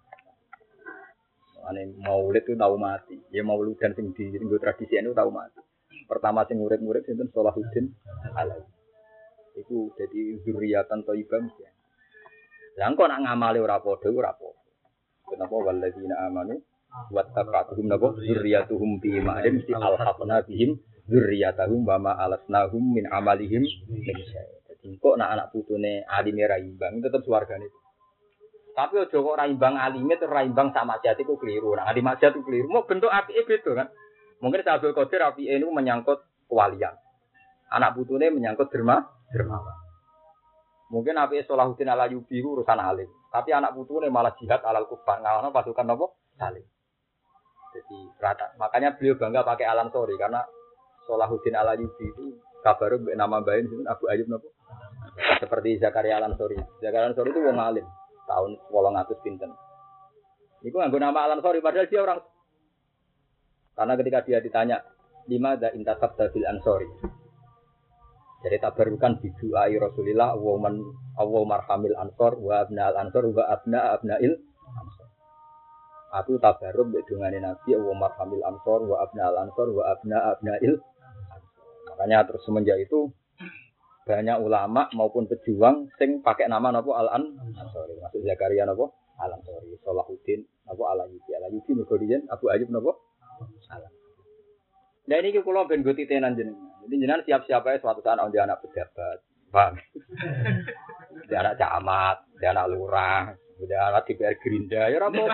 Ane maulid itu tahu mati. Ya maulid dan sing di nggo tradisi itu tahu mati. Pertama sing urip-urip sinten Salahuddin Al-Ayyubi. Iku dadi zuriyatan thayyibah mesti. Lah kok nak ngamale ora padha ora apa. Kenapa walladzina amanu wattaqatuhum nabo zurriyatuhum bi ma'in mesti alhaqna bihim zurriyatahum wa ma alasnahum min amalihim min syai'. Dadi kok nak anak putune alime ra imbang tetep swargane. Tapi aja kok ra imbang alime terus ra imbang sak maksiat iku keliru. Nah, di maksiat iku keliru. Mau bentuk apike beda kan. Mungkin Abdul Qadir apike niku menyangkut kewalian. Anak putune menyangkut derma, dermawan. Mungkin apike Salahuddin Al-Ayyubi urusan alim. Tapi anak putune malah jihad alal kufar ngalahno pasukan apa? Salim. Jadi rata. Makanya beliau bangga pakai Al-Ansari karena Salahuddin Al-Ayyubi itu kabar nama bae Abu Ayyub napa? Seperti Zakaria Al-Ansari. Zakaria Al-Ansari itu wong alim. Tahun wolong atus pinten. Itu nganggo nama Al-Ansari padahal dia orang. Karena ketika dia ditanya, lima ada intasabda bil Ansari. Jadi tabarukan bidu'ai Rasulillah wa man aw marhamil ansor wa abna al ansor wa abna abnail ansor. Aku tabaruk mbek dungane Nabi wa marhamil ansor wa abna al ansor wa abna abnail ansor. Makanya terus semenjak itu banyak ulama maupun pejuang sing pakai nama napa Al-Ansori. Maksud Zakaria napa Al-Ansori, Salahuddin napa Al-Ayyubi. Al-Ayyubi mergo riyen Abu Ayyub napa Al. Nah ini kula ben go titenan jenengan. Jadi jenengan siap-siap ae suatu saat ana anak pejabat. Paham? Dia anak camat, dia anak lurah, dia anak D P R Gerindra, ya ora apa-apa.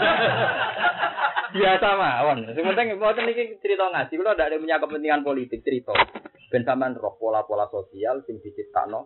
Biasa mawon. Sing penting mboten iki cerita ngaji, kula ndak ada punya kepentingan politik cerita. Ben sampean roh pola-pola sosial sing diciptakno.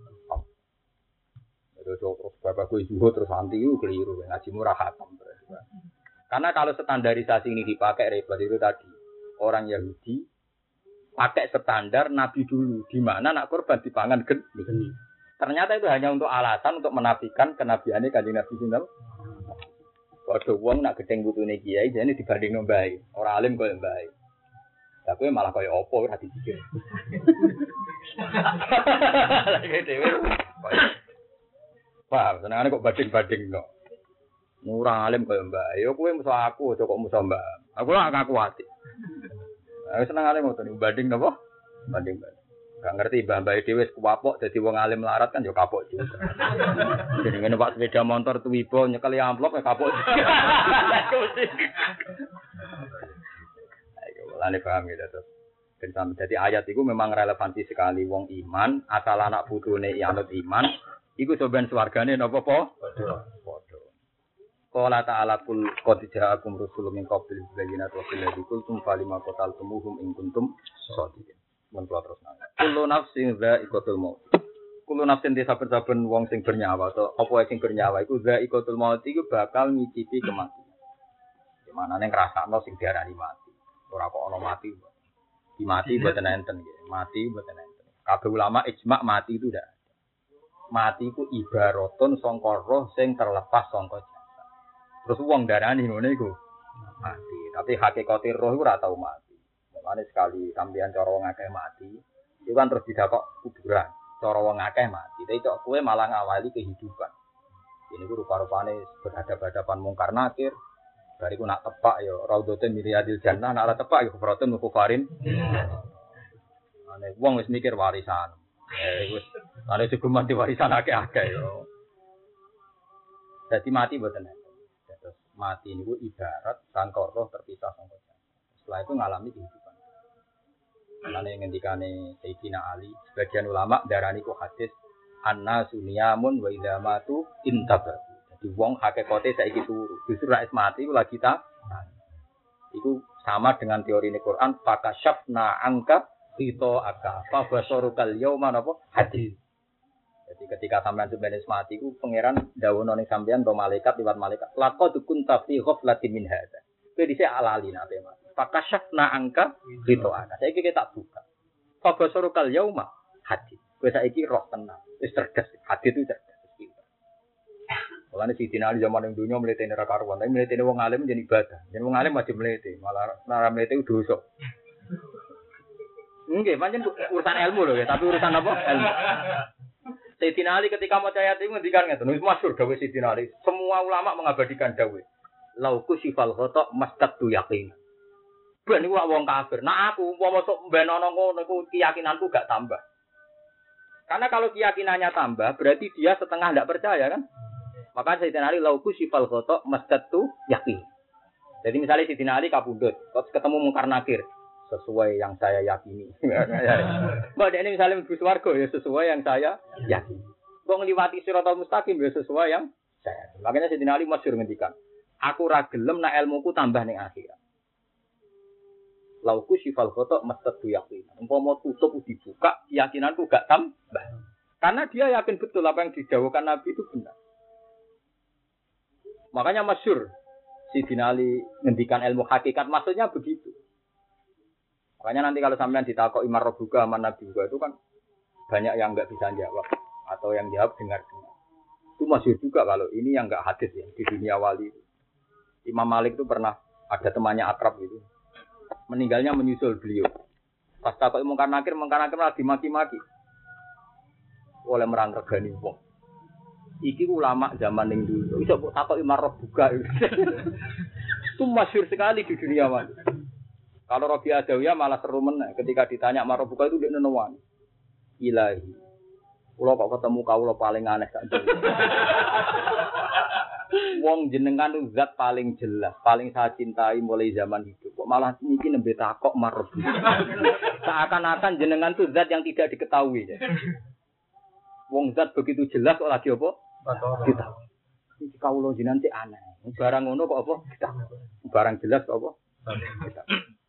Terus terus bapak kuwi zuhud terus anti itu keliru, ngaji murah khatam. Karena kalau standarisasi ini dipakai repot itu tadi. Orang Yahudi pakai standar Nabi dulu, di mana nak korban dipangan geni. Ternyata itu hanya untuk alasan untuk menafikan kenabiannya Kanjeng Nabi sinten. Padha wong nak gedeng putune kiai jane dibandingno mbae. Ora alim koyo mbae. Tapi malah koyo apa ora dipikir. Lagi dhewe. Wah, senengane kok banding-bandingno. Ora alim koyo mbae. Yo kowe musuh aku, aja kok musuh mbak. Aku ora ngaku ati. Aku senengane ngoten banding napa? Banding-banding. Gak ngerti mbah-mbah dhewe wis kuwapok dadi wong alim larat kan yo kapok juga. Jenenge numpak sepeda motor tuwibo nyekeli amplop ya kapok. Ayo lane paham ya terus. Ben dadi ayat iku memang relevansi sekali wong iman, asal anak putune anut iman, iku soben swargane napa po? Padha. Padha. Qala ta'ala kul qad ja'akum rusulun min qabli bayyinati wa qul ladzi falima qataltumuhum in kuntum shadiqin. Mentua terus nang. Kulo nafsin za'iqatul maut. Kulo nafsin desa saben wong sing bernyawa atau apa sing bernyawa iku za'iqatul maut iku bakal ngicipi kematian. Di mana ning ngrasakno sing diarani mati. Ora kok ana mati. Di mati mboten enten nggih. Mati mboten enten. Kabeh ulama ijma' mati itu ndak. Mati iku ibaratun sangka roh sing terlepas sangka jasad. Terus wong darani ngene iku mati. Tapi hakikate roh iku ora tau mati. Mane sekali sampeyan cara wong akeh mati, itu kan terus didakok kuburan. Cara wong akeh mati, tapi kok kowe malah ngawali kehidupan. Ini ku rupa-rupane berhadapan-hadapan mungkar nakir. Bariku nak tepak ya raudhatun min riyadil jannah, nak ora tepak ya kufratun mukufarin. Ane wong wis mikir warisan. Eh wis ane seguman di warisan akeh-akeh yo. Dadi mati mboten enten. Terus mati niku ibarat sangka roh terpisah sangka jasad. Setelah itu ngalami kehidupan. Mulane ngendikane Sayyidina Ali, sebagian ulama darani ku hadis anna sunyamun wa idza matu intabar. Jadi wong hakikate saiki turu. Justru nek mati ku lagi ta. Iku sama dengan teori ini Quran, fakasyafna angka qita aka fa basarukal yauma napa hadis. Jadi ketika sampean sebenarnya mati ku pangeran dawuh ning sampean to malaikat liwat malaikat. Laqad kunta fi ghaflatin min hadza. Kowe dhisik alali nate Mas. Fakasyafna angka qita aka. Saiki kita tak buka. Fa basarukal yauma hadis. Kowe saiki roh tenang. Wis cerdas. Hadis itu cerdas. Mulane Sidina Ali zaman ning dunya mletene ra karuan, tapi mletene wong alim jadi ibadah. Yen wong alim wajib mlete, malah ora mlete ku dosa. Nggih, pancen urusan ilmu lho ya, tapi urusan apa? Ilmu. Sidina Ali ketika maca ayat itu ngendikan ngeten, wis masyhur dawuh Sidina Ali. Semua ulama mengabadikan dawuh. Lauku sifal khata mastaqtu yaqin. Ben iku wong kafir. Nah aku umpama sok ben ana ngono iku keyakinanku gak tambah. Karena kalau keyakinannya tambah, berarti dia setengah ndak percaya kan? Maka Sayyidina Ali lauku sifal khotok mastatu yakin. Jadi misalnya Sayyidina Ali kabundut, terus ketemu mungkar nakir, sesuai yang saya yakini. Mbak ini misalnya mlebu swarga ya sesuai yang saya yakini. Kok ngliwati siratal mustaqim ya sesuai yang saya. Makanya Sayyidina Ali masyhur ngendikan, aku ra gelem nek ilmuku tambah ning akhirat. Lauku sifal khotok mastatu yakin. Umpama tutup dibuka, keyakinanku gak tambah. Karena dia yakin betul apa yang didhawuhkan Nabi itu benar. Makanya masyhur Sayyidina Ali ngendikan ilmu hakikat maksudnya begitu. Makanya nanti kalau sampean ditakoki marbuka man nabi juga itu kan banyak yang enggak bisa jawab atau yang jawab dengar-dengar. Itu masyhur juga kalau ini yang enggak hadis ya di dunia wali. Imam Malik itu pernah ada temannya akrab gitu. Meninggalnya menyusul beliau. Pas takoki mungkar nakir, mungkar nakir malah dimaki-maki. Oleh merang regani wong. Iki ulama zaman yang dulu. Bisa takut imarah buka. Itu masyhur sekali di dunia wali. Kalau Rabi Adawiyah malah seru meneh. Ketika ditanya imarah buka itu dia nenuan. ilahi. Kula kok ketemu kawula paling aneh sak dunya. Wong jenengan itu zat paling jelas, paling saya cintai mulai zaman hidup. Kok malah niki nembe takok marep. Seakan-akan jenengan itu zat yang tidak diketahui. Ya. Wong zat begitu jelas kok lagi apa? Kita. Iki kawula jenengan sik aneh. Barang ngono kok apa? Kita. Barang jelas kok apa? Kita.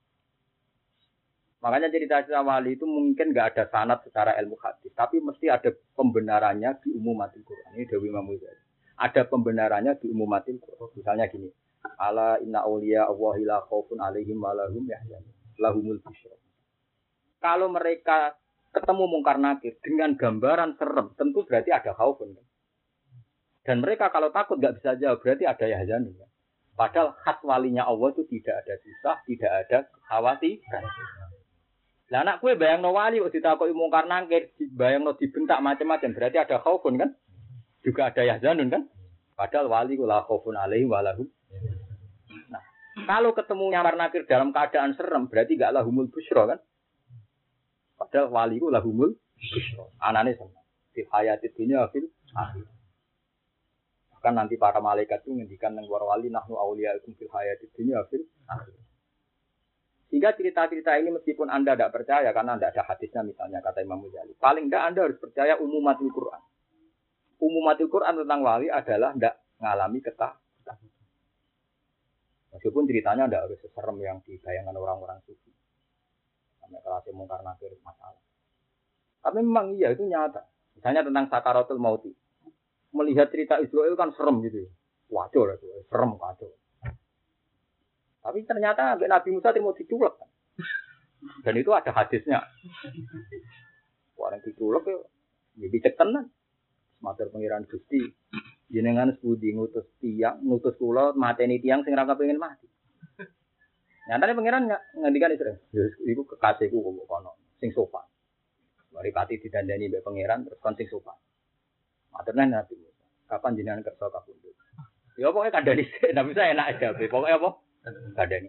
Makanya cerita-cerita wali itu mungkin enggak ada sanad secara ilmu hadis, tapi mesti ada pembenarannya di umumatil Quran. Ini Dewi Imam Ghazali. Ada pembenarannya di umumatil Quran. Misalnya gini, ala inna auliya Allahi la khaufun alaihim wa lahum yahzanun lahumul busyra. Kalau mereka ketemu mungkar nakir dengan gambaran serem, tentu berarti ada khaufun. Dan mereka kalau takut enggak bisa jawab, berarti ada yahzanun. Padahal khas walinya Allah itu tidak ada susah, tidak ada kekhawatiran. Lah anak kue bayangno wali kok ditakoki mungkar nakir, bayangno dibentak macam-macam, berarti ada khaufun kan? Juga ada yahzanun kan? Padahal wali ku la khaufun alaihi wa lahum. Nah, kalau ketemu nyamar nakir dalam keadaan serem, berarti enggak lahumul busyra kan? Padahal wali ku lahumul busyra. Anane seneng. Di hayatid dunya fil akhir. Kan nanti para malaikat itu ngendikan nang para wali nahnu auliyaikum fil hayatid dunya fil akhir. Sehingga cerita-cerita ini meskipun Anda tidak percaya karena tidak ada hadisnya misalnya kata Imam Ghazali, paling tidak Anda harus percaya umumatul Quran. Umumatul Quran tentang wali adalah tidak mengalami ketakutan. Meskipun ceritanya tidak harus seserem yang dibayangkan orang-orang sufi. Sampai kelas mungkar nakir masalah. Tapi memang iya itu nyata. Misalnya tentang sakaratul mauti. Melihat cerita Israel kan serem gitu. Waduh lah, serem kacau. Tapi ternyata Nabi Musa mau diculek. Dan itu ada hadisnya. Orang diculek ya, ya dicek tenan. Matur pengiran Gusti, jenengan sebudi ngutus tiang, ngutus kula mateni tiang sing ra kepengin mati. Nyatane pengiran ngendikan Israel, ya iku kekasihku kok kono, sing sopan. Mari pati didandani mbek pengiran terus kon sing sopan. Maturne Nabi Musa, kapan jenengan kersa kapundhut? Ya pokoke kandhani sik, Nabi saya enak aja, pokoke apa? Kandhani.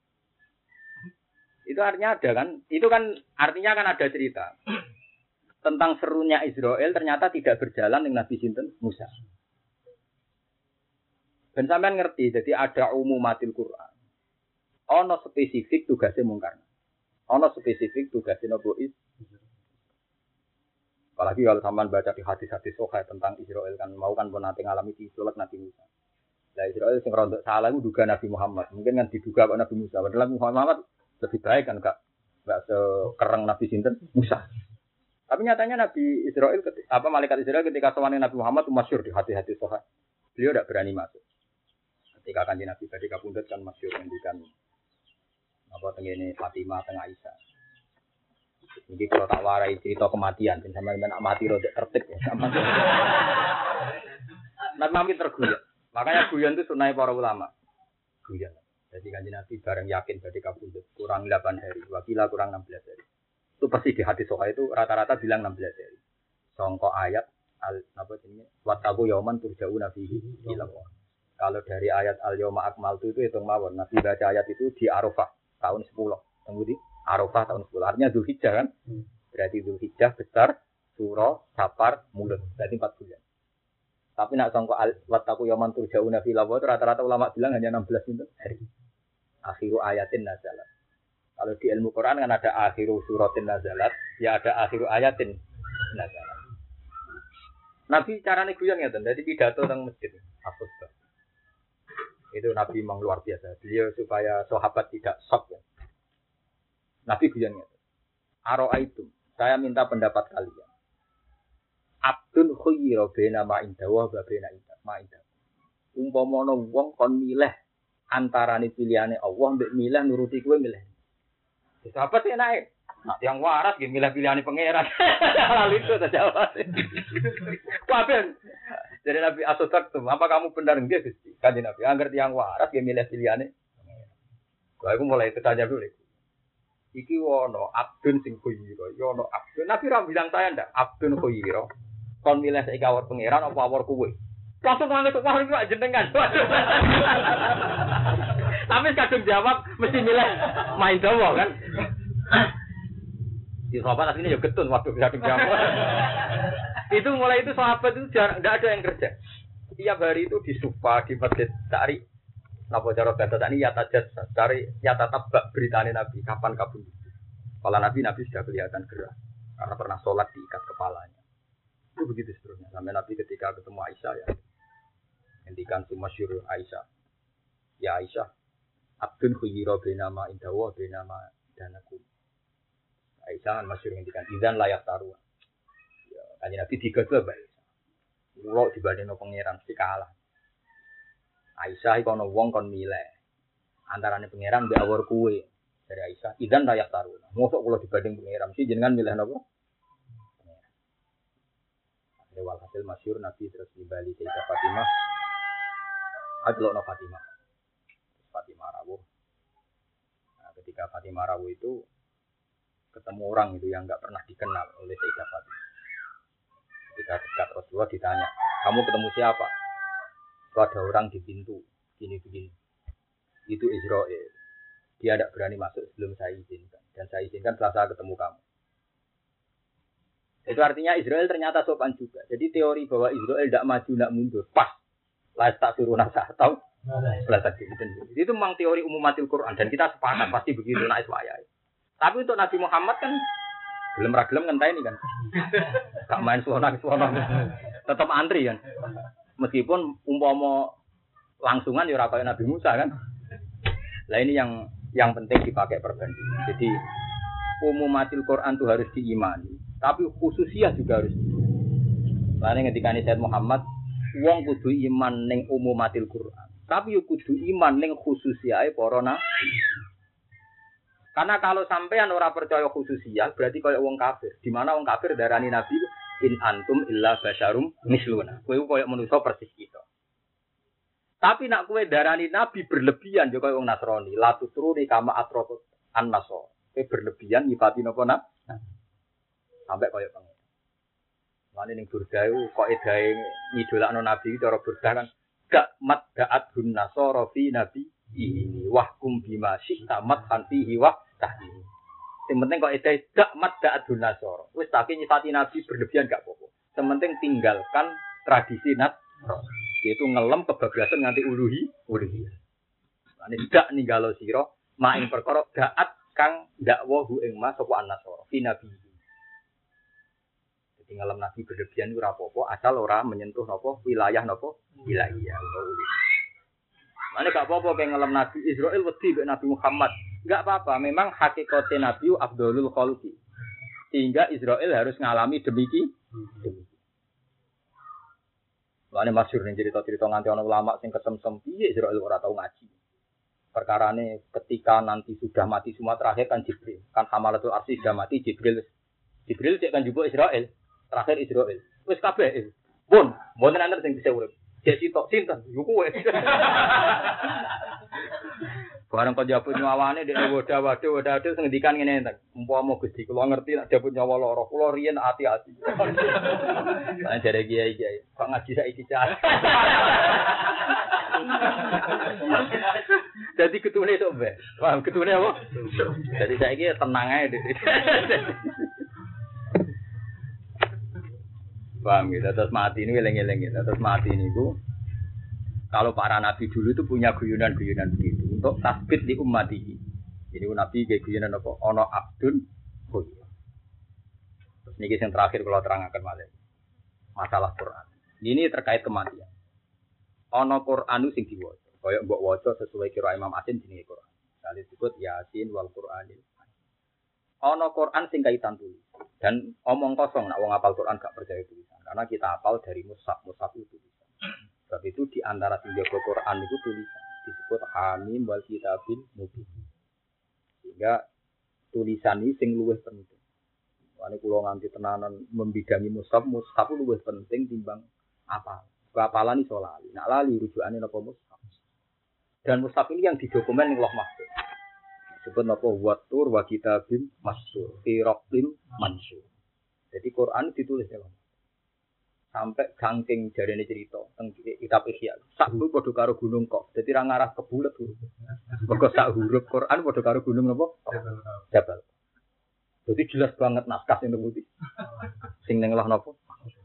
Itu artinya ada kan? Itu kan artinya kan ada cerita. Tentang serunya Israel ternyata tidak berjalan dengan Nabi sinten Musa. Dan sampean ngerti, jadi ada umumatil Quran. Ono spesifik tugasnya mungkar. Ono spesifik tugasnya nabi. Apalagi kalau sampean baca di hadis-hadis sahih tentang Israel kan mau kan pun nanti ngalami disulek Nabi Musa. Lah Israel sing rontok salah itu duga Nabi Muhammad. Mungkin kan diduga Nabi Musa. Padahal Muhammad lebih baik kan enggak enggak sekereng Nabi sinten Musa. Tapi nyatanya Nabi Israel, apa malaikat Israel ketika sowan Nabi Muhammad itu masyhur di hati-hati soha. Beliau tidak berani masuk. Ketika kanjeng Nabi badhe kapundhut kan masyhur ngendikan apa tengene Fatimah tengah Aisyah. Jadi kalau tak warai cerita kematian, sampai nak mati rodok tertib ya. Nabi makin terguyon. Makanya guyon itu sunai para ulama. Guyon. Jadi kanjeng Nabi bareng yakin badhe kapundhut kurang delapan hari, wakila kurang enam belas hari. Itu pasti di hadis sahih itu rata-rata bilang enam belas hari. Songko ayat al apa jenenge wattaqu yauman turja'una fihi ila Allah. Kalau dari ayat al yauma akmaltu itu hitung mawon. Nabi baca ayat itu di Arafah tahun sepuluh. Tunggu di Arafah tahun sepuluh. Artinya Dzulhijjah kan? Berarti Dzulhijjah besar, Suro, Safar, Mulut. Berarti empat bulan. Tapi nak songko al wattaqu yauman turja'una fihi ila Allah itu rata-rata ulama bilang hanya enam belas hari. Akhiru ayatin nazalat. Kalau di ilmu Quran kan ada akhiru suratin nazalat, ya ada akhiru ayatin nazalat. Nabi carane guyon ngeten, dadi pidato teng masjid. Hafuz. Itu Nabi memang luar biasa. Beliau supaya sahabat tidak shock ya. Nabi guyon ngeten. Aro'aitum, saya minta pendapat kalian. Abdun khuyira baina ma indahu wa baina ma indahu. Umpama ana wong kon milih antarane pilihane Allah mbek milih nuruti kowe milih. Sahabat sih naik. Nah, yang waras dia milih pilihan pangeran. Lalu itu saja jawab. Waben. Jadi Nabi Asotak tuh, apa kamu benar enggak Gusti? Kanjeng Nabi, angger yang waras dia milih pilihannya. Gua aku mulai bertanya dulu. Iki wono abdun sing khuyira, yo ono abdun. Nabi ra bilang saya ndak abdun khuyira. Kon milih saiki awor pangeran apa awor kowe? Langsung nangis wah iki jenengan. Tapi kadung jawab mesti milih main dawa kan. Di sahabat aslinya ya getun waktu gading jamu. Itu mulai itu sahabat itu jarang, tidak ada yang kerja. Tiap hari itu di sufa di masjid cari. Napa cara kata tadi ya tajat cari ya tetap beritanya Nabi kapan kabun. Kepala Nabi Nabi sudah kelihatan gerah karena pernah sholat diikat kepalanya. Itu begitu seterusnya. Sampai Nabi ketika ketemu Aisyah ya, hentikan si masyhur Aisyah. Ya Aisyah, Abdun khuyiro benama indawa benama danaku. Aisyah masyhur hentikan izan layak taruh. Ya, kanjeng Nabi tiga dua baik. Kulo dibandingno pangeran mesti kalah. Aisyah iku ana wong kon milih. Antarane pangeran mbek awor kuwe. Dari Aisyah, izan layak taruh. Mosok kula dibanding pangeran mesti jenengan milih napa? Lewal hasil masyhur Nabi terus dibali Sayyidah Fatimah. Adlokno Fatimah. Fatimah rawuh. Nah, ketika Fatimah rawuh itu ketemu orang itu yang enggak pernah dikenal oleh Sayyidah Fatimah. Ketika dekat Rasulullah ditanya, "Kamu ketemu siapa?" Itu ada orang di pintu, gini-gini. Itu Israel. Dia tidak berani masuk sebelum saya izinkan. Dan saya izinkan setelah saya ketemu kamu. Itu artinya Israel ternyata sopan juga. Jadi teori bahwa Israel tidak maju, tidak mundur. Pas. Lah tak suruh nasa atau lah tak gitu. Itu memang teori umumatil Quran. Dan kita sepakat pasti begitu. Nah, iswaya. Tapi untuk Nabi Muhammad kan belum ragilem ngentai ini kan. Gak main suara-suara. Tetap antri kan. Meskipun umpama langsungan ya ora kaya Nabi Musa kan. Lah ini yang yang penting dipakai perbandingan. Jadi umumatil Quran itu harus diimani, tapi khususiyah juga harus. Lain ketika ini Sayyid Muhammad, wong kudu iman ning umumatil Quran, tapi yo kudu iman ning khususiyahe para nabi. Karena kalau sampean ora percaya khususiyah, berarti kaya wong kafir. Di mana wong kafir darani nabi in antum illa basyarum misluna. Kowe kaya manusa persis kita. Tapi nak kue darani nabi berlebihan juga wong Nasrani. Latu turuni kama atrokut an naso. Kue berlebihan nyipati nopo nak. Sampai kaya pengen. Mana ning burda itu kok edae ngidolakno nabi cara burda kan gak mat daat gun nasoro fi nabi ini wahkum bima syi'tamat hanfihi wah tahdi. Yang penting kok edae gak mat daat gun nasoro. Wis tak nyipati nabi berlebihan gak apa-apa. Yang penting tinggalkan tradisi Nasrani. Yaitu ngelem kebablasan nganti uluhi uluhi. Lan tidak ninggalo sira maing perkara daat kang dakwahu ing mas sapa an-nasara fi nabi. Jadi ngelem nabi berlebihan ora apa-apa asal ora menyentuh napa wilayah napa wilayah utawa uluhi. Mane gak apa-apa kaya ngelem nabi Israil wedi mek Nabi Muhammad. Enggak apa-apa, memang hakikate nabi afdhalul khalqi. Sehingga Israil harus ngalami demikian. Demikian. Lane masyhur ning cerita-cerita nganti ana ulama sing kesemsem piye Israil ora tau ngaji. Perkarane ketika nanti sudah mati semua terakhir kan Jibril. Kan Hamalatul Arsy sudah mati Jibril. Jibril cek kan jupuk Israil. Terakhir Israil. Wis kabeh. Pun, mboten ana sing bisa urip. Cek sitok sinten yo kowe. Barang kok jabut nyawane dek wadah-wadah wadah-wadah sing ngendikan ngene enten. Umpama Gusti kula ngerti nek jabut nyawa lara, kula riyen ati-ati. Lan jare kiai-kiai, kok ngaji saiki cah. Jadi ketune tok, Mbak. Paham ketune apa? Jadi saiki tenang ae. Paham gitu, terus mati ini eleng-eleng gitu. Terus mati niku kalau para nabi dulu itu punya guyonan-guyonan begitu untuk tasbit di umat ini. Jadi nabi kayak guyonan apa? Ono abdun khuyur. Terus niki yang terakhir kalau terangkan malah masalah Quran. Ini terkait kematian. Ono Quranu sing diwaca. Kaya mbok waca sesuai kira Imam Asim jenenge Quran. Kali disebut Yasin wal Qur'anil. Ono Quran sing kaitan tulis. Dan omong kosong nak wong hafal Quran gak percaya tulisan. Karena kita hafal dari mushaf, mushaf itu tulisan. Sebab itu di antara tiga Quran itu tulisan disebut Hamim wal Kitabil Mubin. Sehingga tulisan ini sing luwih penting. Wane kula nganti tenanan membidangi mushaf, mushaf luwih penting timbang apa? Hafalan iso lali. Nak lali rujukane napa mushaf. Dan mushaf ini yang didokumen ning Lauh Mahfuz. Disebut napa Wattur wa Kitabil Mastur, fi Raqim Mansur. Jadi Quran ditulis dalam sampai gangking jarene cerita teng kitab Ihya. Sak huruf padha karo gunung kok. Dadi ra ngarah ke bulet huruf. Mergo sak huruf Quran padha karo gunung napa? Jabal. Jadi jelas banget naskah sing putih. Sing ning lah napa?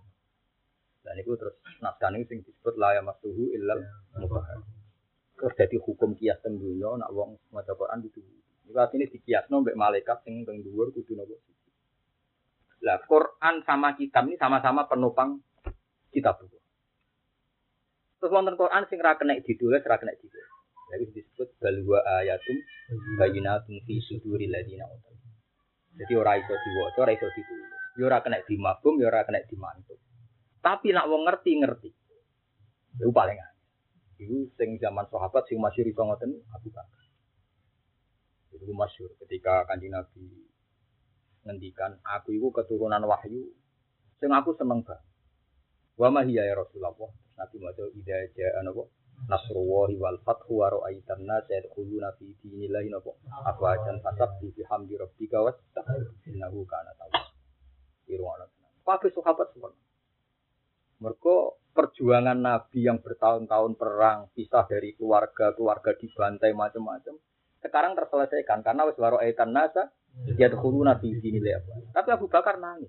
Dan itu terus naskah ini sing disebut la yamassuhu illal mutahhar. Terus dadi hukum kias teng dunya nek wong maca Quran itu. Iku artine dikiasno mbek malaikat sing teng dhuwur kudu napa? Lah Quran sama kitab ini sama-sama penopang kitab buku. Terus wonten Quran sing ra kena ditulis, ra kena ditulis. Lha iki disebut balwa ayatum bayyinatun fi suduril ladina utul. Jadi ora iso diwaca, ora iso ditulis. Ya ora kena dimabum, ya ora kena dimantuk. Tapi nak wong ngerti-ngerti. Iku paling aneh. Iku sing zaman sahabat sing masyhur iso ngoten Abu Bakar. Iku masyhur ketika Kanjeng Nabi ngendikan, aku iku keturunan wahyu. Sing aku seneng banget. Wa ma hiya ya Rasulullah. Nabi maca idza ja'a napa Nasrullahi wal fathu wa ra'aitan nas yadkhuluna fi dinillahi napa afwajan fasabbi bihamdi rabbika wastaghfir innahu kana tawwab. Irwana. Kabeh sahabat semua. Mergo perjuangan Nabi yang bertahun-tahun perang, pisah dari keluarga, keluarga dibantai macam-macam, sekarang terselesaikan karena wis wa ra'aitan nas yadkhuluna fi dinillahi. Tapi Abu Bakar nangis.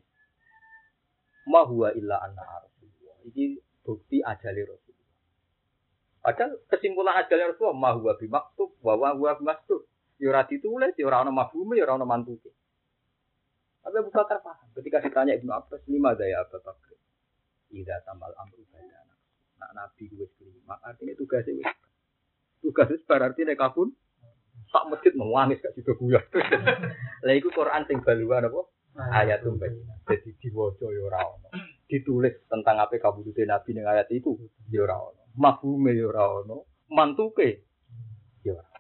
Ma huwa illa anna rasulullah. Iki bukti ajale Rasul. Padahal kesimpulan ajalnya Rasulullah ma huwa bimaktub wa huwa bimaktub. Ya ora ditulis, ya ora ana mafhume, ya ora ana mantuke. Tapi Abu Bakar paham. Ketika ditanya Ibnu Abbas, lima daya Abu Bakar. Idza tamal amru badana. Nak nabi wis kelima, artinya tugasnya wis. Tugas wis berarti nek kabun sak masjid mewangis gak juga buyar. Lah iku Quran sing baluan apa? Ayatum bayyinah. Jadi diwaca ya ora ana. Ditulis tentang apa kabudute nabi ning ayat itu ya ora ana. Mafhume ya ora ono, mantuke ya ora.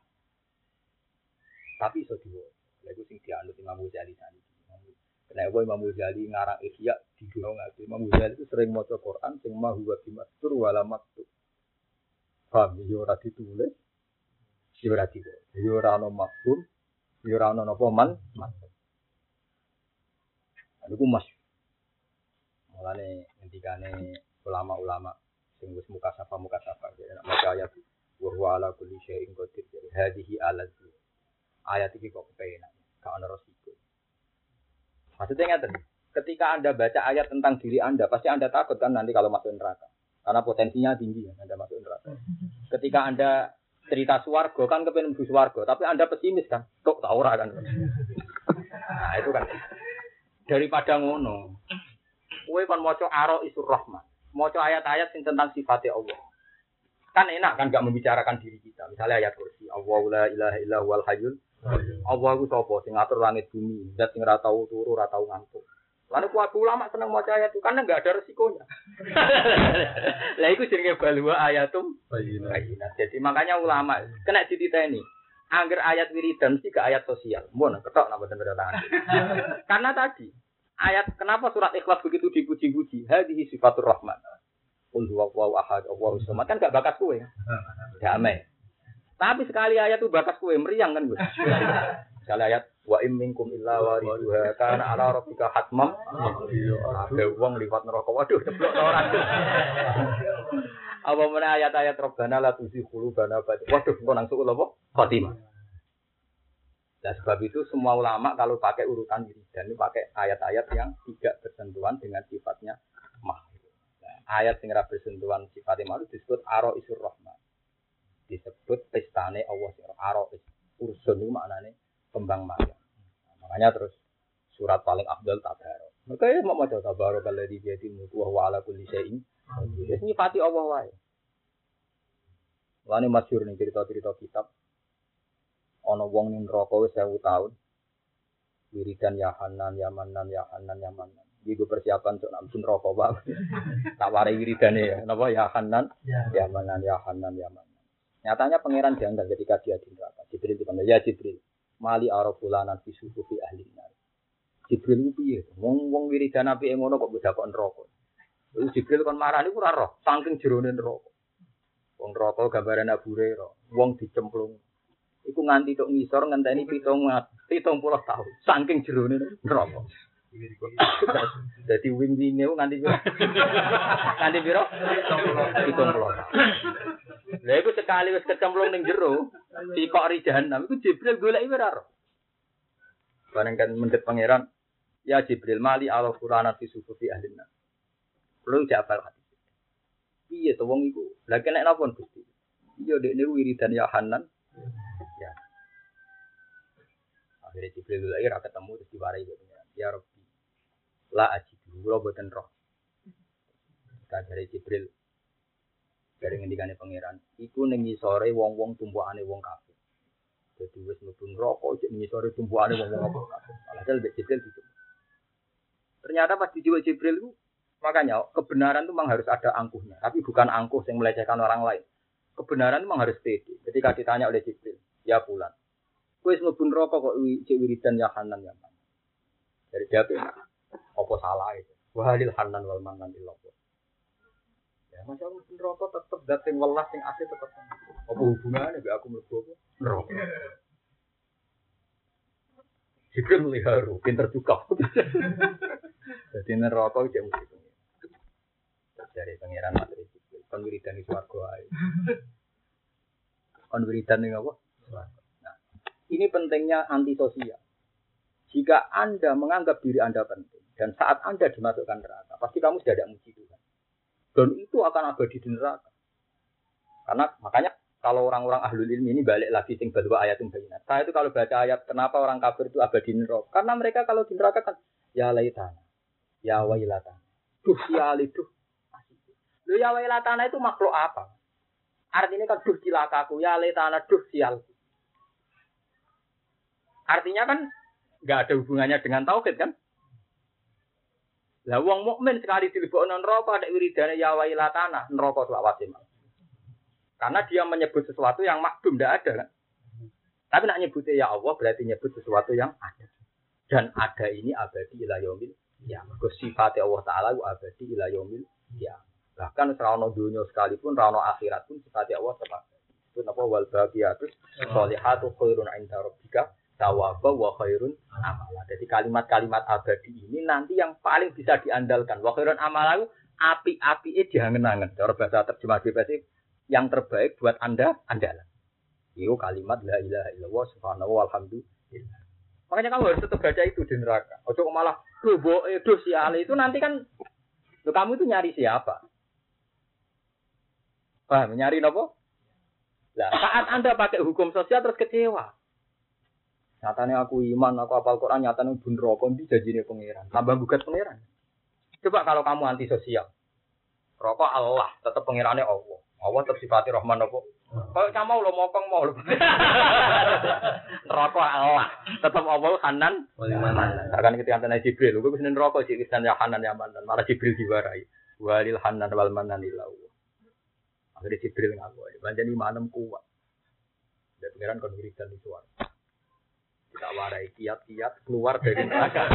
Tapi iso diwaca. Lha iku sing dianut Imam Ghazali sani. Kenapa Imam Ghazali ngarang Ihya digolong ngate. Imam Ghazali itu sering maca Quran sing ma huwa bimastur wala maktub. Paham ya ora ditulis. Ya ora diwaca. Ya ora ono mafhum, ya ora ono napa man. Iku mas. Mulane ngendikane ulama-ulama sing wis muka sapa muka sapa nek maca ayat wa huwa ala kulli syai'in qadir hadhihi alatu ayat iki kok kepenak gak ana resiko. Maksudnya ngaten, ketika Anda baca ayat tentang diri Anda pasti Anda takut kan nanti kalau masuk neraka karena potensinya tinggi ya Anda masuk neraka. Ketika Anda cerita swarga kan kepengin mlebu swarga tapi Anda pesimis kan kok tak ora kan. Nah itu kan daripada ngono kowe kon maca aro isur rahman. Maca ayat-ayat sing tentang sifatnya Allah. Kan enak kan enggak membicarakan diri kita. Misalnya ayat kursi, Allahu la ilaha illa huwal hayyul. Allah iku sapa sing ngatur langit bumi, zat sing ora tau turu, ora tau ngantuk. Lalu kuwi ulama seneng maca ayat itu karena enggak ada resikonya. Lah iku jenenge balwa ayatum bayyinah. Jadi makanya ulama kena dititeni. Angger ayat wiridan sih ke ayat sosial. Mun ketok napa ten tangan. Karena tadi ayat kenapa surat Ikhlas begitu dipuji-puji? Hadhihi sifatur rahman. Qul huwallahu ahad, Allahu samad kan gak bakas kowe. Damai. Tapi sekali ayat itu bakas kowe meriang kan kowe. Sekali ayat wa im minkum illa wariduha kana ala rabbika hatmam. Ada wong liwat neraka. Waduh, ceblok ora. Apa meneh ayat-ayat Rabbana la tuzigh qulubana ba'da. Waduh, kok nang suku apa? Khotimah. Dan sebab itu semua ulama kalau pakai urutan wiridan ini pakai ayat-ayat yang tidak bersentuhan dengan sifatnya makhluk. Nah, ayat yang tidak bersentuhan sifatnya makhluk disebut aro isur rahman. Disebut pestane Allah sing aro is. Ursun itu maknanya kembang mayang. Nah, makanya terus surat paling afdal tabarok. Makanya mau maca tabarok alladzi bi yadihi mulku wa huwa ala kulli syai'in. Wis nyifati Allah wae. Lane masyhur ning cerita-cerita kitab ana wong ning neraka wis seribu tahun. Wiridan ya Hanan, ya Manan, ya Hanan, ya Manan. Iki go persiapan untuk nang neraka wae. Tak wari wiridane ya. Napa ya Hanan, ya Manan, ya Hanan, ya Manan. Nyatanya pangeran janggal ketika dia di neraka. Jibril dipanggil, ya Jibril. Mali arafulanan fi sufufi ahli nar. Jibril ku piye? Wong wong wiridan apike ngono kok beda kok neraka. Lalu Jibril kon marani ku ora roh, saking jerone neraka. Wong neraka gambaran Abu Hurairah, wong dicemplung. Iku nganti tok ngisor ngenteni pitung puluh tahun. Saking jerone neraka. Dadi wing-winge nganti piro? Nganti piro? pitung puluh tahun. Lha iku sekali wis kecemplung ning jero, sikok ri jahanam iku Jibril goleki ora roh. Bareng kan mendet pangeran, ya Jibril mali ala Qur'anat fi sufufi ahlina. Kulo jabal hati. Piye to wong iku? Lah kena napa Gusti? Iya dekne wiridan ya Hanan. Ya. Akhirnya Jibril lagi ra ketemu terus diwarai gitu. Ya Rabbi. La ajidu kulo boten roh. Dari Jibril dari ngendikane pangeran iku ning ngisore wong-wong tumpukane wong kafir. Jadi wis mlebu neraka cek ning ngisore tumpukane wong-wong kafir. Padahal mbek Jibril gitu. Ternyata pas dijual Jibril itu makanya kebenaran itu memang harus ada angkuhnya, tapi bukan angkuh yang melecehkan orang lain. Kebenaran memang harus pede. Ketika ditanya oleh Jibril, ya Fulan, kowe wis mlebu neraka kok cek wiridan ya Hanan ya. Dari dia apa salah itu? Wa halil Hanan wal manan illallah. Ya, masa aku neraka tetep dat sing welas sing asih tetep. Apa hubungannya mbek aku mlebu apa? Neraka. Jibril meliharu, pinter juga. Jadi neraka iki mesti pengen. Dari pangeran materi Jibril, kon wiridan di swarga ae. Kon wiridan ning apa? Swarga. Nah, ini pentingnya antisosial. Jika Anda menganggap diri Anda penting dan saat Anda dimasukkan neraka, pasti kamu sudah tidak muji Tuhan. Dan itu akan abadi di neraka. Karena makanya kalau orang-orang ahlul ilmi ini balik lagi sing badwa ayatum bayinat. Saya itu kalau baca ayat kenapa orang kafir itu abadi di neraka? Karena mereka kalau di neraka kan ya laitana, ya wailatana. Duh siali duh. Lho ya wailatana itu makhluk apa? Artinya kan duh cilakaku, ya laitana duh sial. Artinya kan enggak ada hubungannya dengan tauhid kan? Lah wong mukmin sekali dilebokno neraka ada wiridane ya wailatana, neraka selawase. Karena dia menyebut sesuatu yang makdum ndak ada kan. Tapi nak nyebutnya ya Allah berarti nyebut sesuatu yang ada. Dan ada ini abadi ila yaumil ya. Mergo sifat Allah taala abadi ila yaumil ya. Bahkan serono dunia sekalipun rono akhirat pun sifat Allah tetap. Itu napa wal baqiyatus sholihatu khairun 'inda rabbika tawaba wa khairun amala. Jadi kalimat-kalimat abadi ini nanti yang paling bisa diandalkan. Wa khairun amala api-apike diangen-angen. Cara bahasa terjemah B P S yang terbaik buat Anda andalan. Itu kalimat la ilaha illallah subhanahu walhamdulillah. Makanya kamu harus tetap baca itu di neraka. Ojo malah duh boe duh siale itu nanti kan lo kamu itu nyari siapa? Paham nyari nopo? Lah saat Anda pakai hukum sosial terus kecewa. Nyatanya aku iman, aku hafal Quran, nyatanya bun rokok, ini janjinya pangeran. Tambah gugat pangeran. Coba kalau kamu antisosial. Rokok Allah, tetap pangerannya Allah. Allah tetap sifati Rahman apa? Kalau kamu lo mokong mau lo. Rokok Allah, tetap Allah Hanan. Akan ketika antara Jibril, gue bisa rokok sih, kisah ya Hanan ya Manan. Malah Jibril diwarai. Walil Hanan wal Manan ilau. Akhirnya Jibril ngaku. Banjani manem kuat. Dan pangeran konfirikan di suara. Tak warai kiat-kiat keluar dari neraka.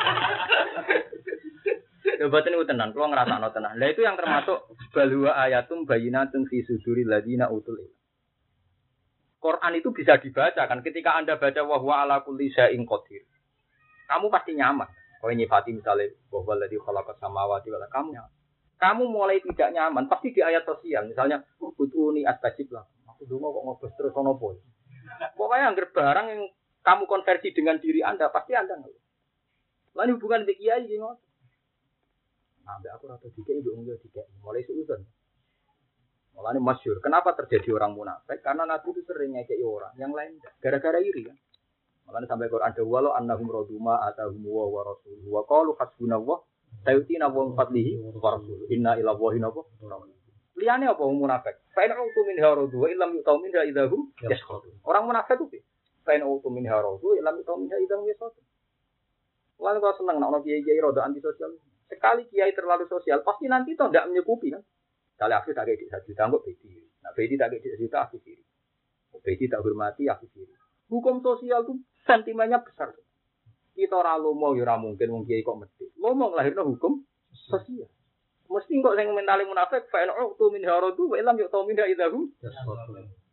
Coba itu tenan, kalau ngerasa tenan. Nah itu yang termasuk balwa ayatum bayinatun fi suduril ladina utul ilm. Quran itu bisa dibaca kan ketika Anda baca wa huwa ala kulli syai'in qadir. Kamu pasti nyaman. Kalau nyifati misalnya wa huwa alladzi khalaqas samawati wal arda kamu. Kamu mulai tidak nyaman pasti di ayat sosial misalnya utuni astajib lah. Aku dulu kok ngobos terus ono boy. Pokoknya anggar barang yang kamu konversi dengan diri Anda, pasti Anda ngeluh. Lalu hubungan dengan kiai gimana? Nah, aku rata tiga ibu enggak tiga, mulai seuzon. Mulanya masyhur. Kenapa terjadi orang munafik? Karena Nabi itu sering ngekei orang, yang lain gara-gara iri kan. Mulanya sampai Quran ada walau annahum raduma atahum wa wa rasuluhu wa qalu hasbunallah sayutina wa fadlihi wa rasuluhu inna ila wahi nabo. Liane apa munafik? Fa in utu min haradu wa illam yu'tu min idahum yaskhudun. Orang munafik itu Fain auto min harodu, ilam itu min haidang yesot. Lalu kalau senang nak orang kiai kiai roda antisosial, sekali kiai terlalu sosial, pasti nanti toh tidak menyukupi kan. Kali aku tak kayak di satu juta, enggak beti. Nak beti tak kayak di satu juta, aku siri. Beti tak hormati, aku siri. Hukum sosial itu sentimennya besar. Kita orang lomo, ya mungkin wong kiai kok mesti. Lomo ngelahirno hukum sosial. Mesti kok yang mentali munafik, fain auto min harodu, ilam yuk tau min haidang yesot.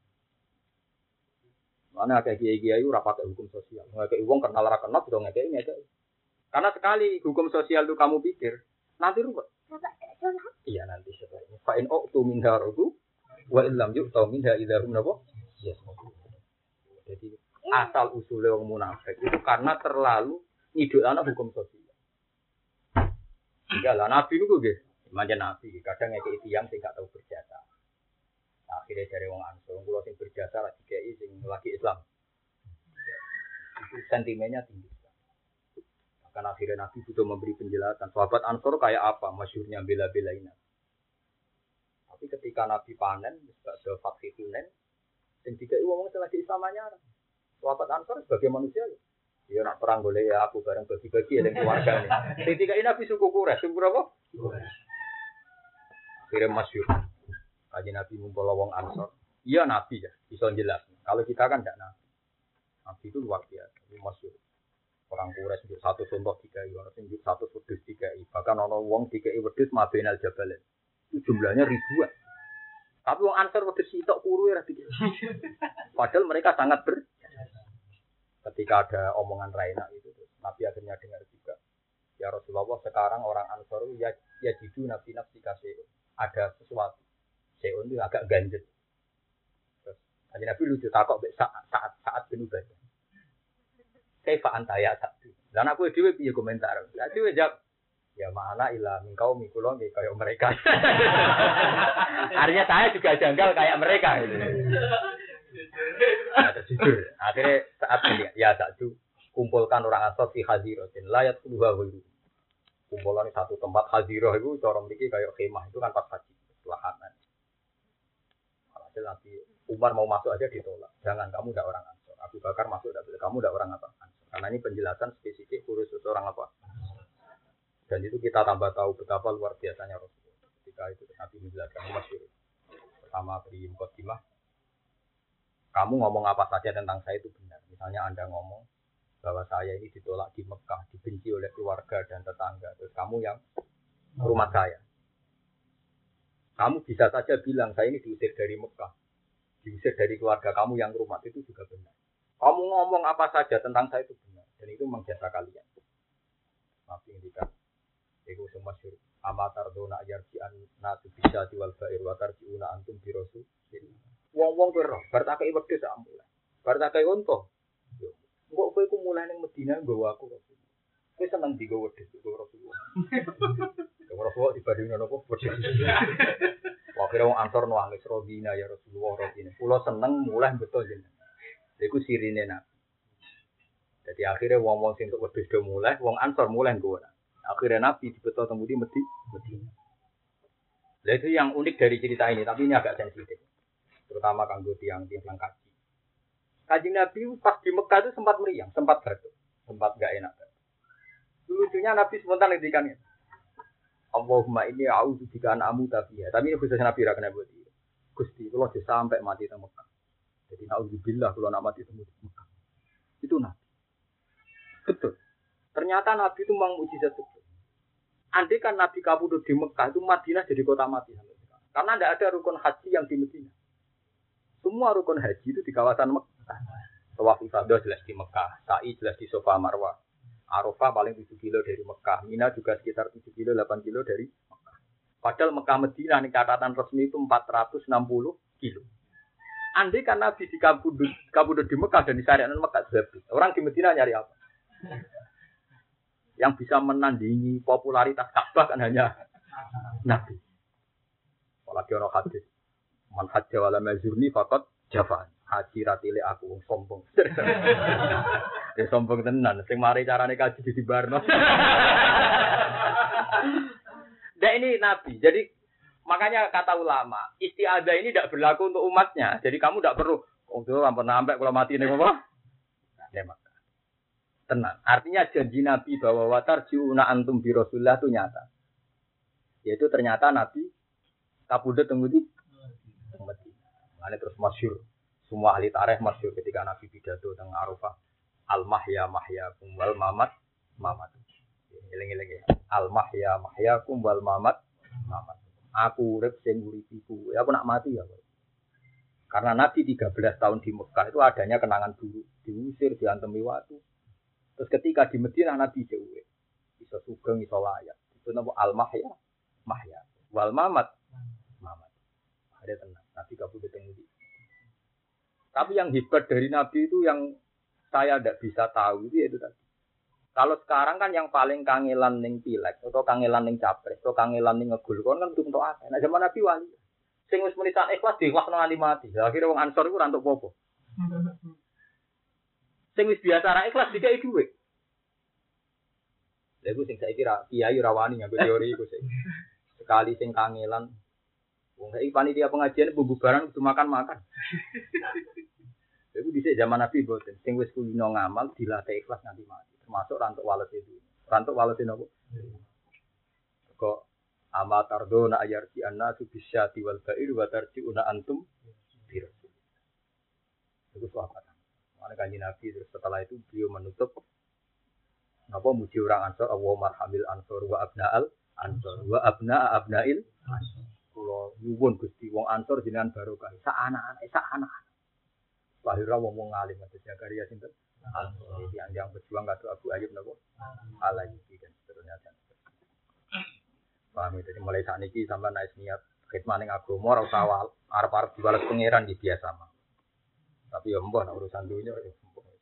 Mana kayak kiai-kiai ora pakai hukum sosial. Ngekei wong kenal ra kenal udah ngekei ngekei. Karena sekali hukum sosial itu kamu pikir, nanti ruwet. Iya nanti sebenarnya. Fa in uqtu min harudu wa illam yu'tu minha idza hum nabo. Yes. Jadi asal usulnya wong munafik itu karena terlalu ngidolana hukum sosial. Enggak lah nabi niku nggih, manjen nabi kadang ngekeki tiyang sing gak tau berjasa. Akhirnya dari wong Ansor, kula sing berjasa lagi dikeki sing lagi Islam. Itu sentimennya tinggi. Maka akhirnya Nabi butuh memberi penjelasan. Sahabat Ansor kayak apa? Masyhurnya bela-belain. Tapi ketika Nabi panen, ada faksi Hunain, sing dikeki wong sing lagi Islam anyar. Sahabat Ansor sebagai manusia ya. Ya nak perang boleh ya aku bareng bagi-bagi ya dengan keluarga ini. Sing dikeki Nabi suku Quraisy, suku apa? Akhirnya masyhur. Kaji Nabi ngumpul wong Ansor. Iya Nabi ya, bisa jelas. Kalau kita kan tidak Nabi. Nabi itu luar biasa, ini masyhur. Orang Quraisy njuk satu contoh tiga i, orang njuk satu wedhus tiga i. Bahkan ana wong tiga i wedhus mabenal jabalen. Itu jumlahnya ribuan. Tapi wong Ansor wedhus sitok kuru ya dikit. Padahal mereka sangat ber. Ketika ada omongan Raina itu, Nabi akhirnya dengar juga. Ya Rasulullah, sekarang orang Ansor ya ya jidu nabi nafsi kasih ada sesuatu. Seon itu agak ganjel. Terus Nabi lucu takok saat saat saat penuh baca. Kaifa anta ya satu. Dan aku dhewe piye komentar. Lah dhewe jawab, ya mana ilah mingkau mikulo nggih kayak mereka. Artinya saya juga janggal kayak mereka gitu. Nah, jujur. Akhirnya saat ini ya satu kumpulkan orang Ansor di Hadirotin layat keluar dulu. Kumpulan di satu tempat Hadiroh itu cara mriki kayak kemah itu kan pas haji lahan. Hasil Nabi Umar mau masuk aja ditolak. Jangan, kamu tidak orang Ansor. Abu Bakar masuk tidak boleh. Kamu tidak orang apa? Ansor. Karena ini penjelasan spesifik khusus orang apa? Dan itu kita tambah tahu betapa luar biasanya Rasulullah. Ketika itu Nabi menjelaskan masyhur. Pertama beri mukadimah. Kamu ngomong apa saja tentang saya itu benar. Misalnya Anda ngomong bahwa saya ini ditolak di Mekah, dibenci oleh keluarga dan tetangga. Terus kamu yang rumah saya. Kamu bisa saja bilang saya ini diusir dari Mekah. Diusir dari keluarga kamu yang rumah itu juga benar. Kamu ngomong apa saja tentang saya itu benar. Dan itu menjasa kalian. Nabi ngendikan, itu semua syur. Amatar dona yarji'an natu bisa diwal ba'ir wa tarji'una antum bi rasul. Wong-wong kowe roh, bar tak kei wedhus sak mulai. Bar tak kei unta. Yo. Engko kowe ku mulai ning Madinah nggawa aku kok. Kowe seneng digawa wedhus karo Rasulullah. Karo Rasulullah dibandingno napa wedhus. Wakil wong Ansor nangis rodina ya Rasulullah rodina. Kula seneng mulai betul jenengan. Iku sirine Nabi. Jadi akhirnya wong-wong sing entuk wedhus do mulai, wong Ansor mulai nggawa. Akhirnya Nabi dibetul temu di Madinah. Lah itu yang unik dari cerita ini, tapi ini agak sensitif. Terutama kanggo tiang-tiang kaji. Kaji Nabi pas di Mekah itu sempat meriang, sempat batuk, sempat enggak enak. Lucunya Nabi spontan ngendikan, Allahumma inni a'udzu bika an amuta fiha. Tapi ini khusus Nabi ra kena buat iki. Gusti, kula aja sampai mati teng Mekah. Jadi naudzubillah kula nak mati teng Mekah. Itu Nabi. Betul. Ternyata Nabi itu memang mukjizat betul. Andai kan Nabi kabudut di Mekah itu Madinah jadi kota mati sampai sekarang. Karena tidak ada rukun haji yang di Madinah. Semua rukun haji itu di kawasan Mekah. Tawaf ifadah jelas di Mekah, sa'i jelas di Safa Marwah. Arafah paling tujuh kilo dari Mekah, Mina juga sekitar tujuh kilo delapan kilo dari Mekah. Padahal Mekah Madinah nih catatan resmi itu empat ratus enam puluh kilo. Andai kan Nabi di kabudut, kabudut di Mekah dan di syariat Mekah habis. Orang di Madinah nyari apa? Yang bisa menandingi popularitas Ka'bah kan hanya Nabi. Apalagi orang hadis. Man hajja wala mazurni faqad jafan. Haji ratile aku sombong. Ya sombong tenan. Sing mari carane kaji di barno. Nah ini Nabi. Jadi makanya kata ulama, isti'adzah ini tidak berlaku untuk umatnya. Jadi kamu tidak perlu oh tuh ampun sampai kalau mati ning apa? Ya maka. Tenang. Artinya janji Nabi bahwa watarjiuna antum bi Rasulillah itu nyata. Yaitu ternyata Nabi kabudut teng ndi? Ini terus masyhur. Semua ahli tarikh masyhur ketika Nabi pidato teng Arafah. Al-mahya mahyakum wal mamat mamat. Eling-eling Al-mahya mahyakum wal mamat mamat. Aku urip sing uripiku. Ya aku nak mati ya. Karena Nabi tiga belas tahun di Mekah itu adanya kenangan dulu, diusir, diantemi watu. Terus ketika di Madinah Nabi jauh. Bisa sugeng, bisa layak. Itu nama Al-mahya mahya wal mamat mamat. Ada tenang. Nabi kabudut teng ndi. Tapi yang hebat dari Nabi itu yang saya tidak bisa tahu itu, itu tadi. Kalau sekarang kan yang paling kangelan ning pilek atau kangelan ning capres atau kangelan ning ngegul kon kan untuk akeh. Nah zaman Nabi wali. Sing wis menitan ikhlas diikhlasno nganti mati. Akhire wong Ansor iku ora entuk apa-apa. Sing wis biasa ra ikhlas dikai dhuwit. Lha iku sing saiki ra kiai ra wani nganggo teori iku sing. Sekali sing kangelan wong saiki panitia pengajian bububaran kudu makan-makan. Iku dhisik zaman Nabi boten. Sing wis kulino ngamal dilatih ikhlas nganti mati. Termasuk rantuk walet itu. Rantuk walet nopo? Kok ama tardona ayarti annasu bisyati wal ba'ir wa tarji'una antum bir. Itu sahabat. Mane kanjeng Nabi terus setelah itu beliau menutup napa muji orang Ansor Allah marhamil Ansor wa abna'al Ansor wa abna'a abna'il Ansor. Kula nyuwun Gusti wong Ansor jenengan barokah. Sak anak-anak, sak anak. Lahir wong wong alim Mas Zakaria sinten? Ansor. Yang yang berjuang kado Abu Ayyub napa? Al-Ayyubi dan seterusnya dan seterusnya. Paham itu mulai saat ini sampai naik niat khidmat ning agama ora usah awal arep-arep dibalas pangeran di biasa mah. Tapi ya mbah urusan dunya ya.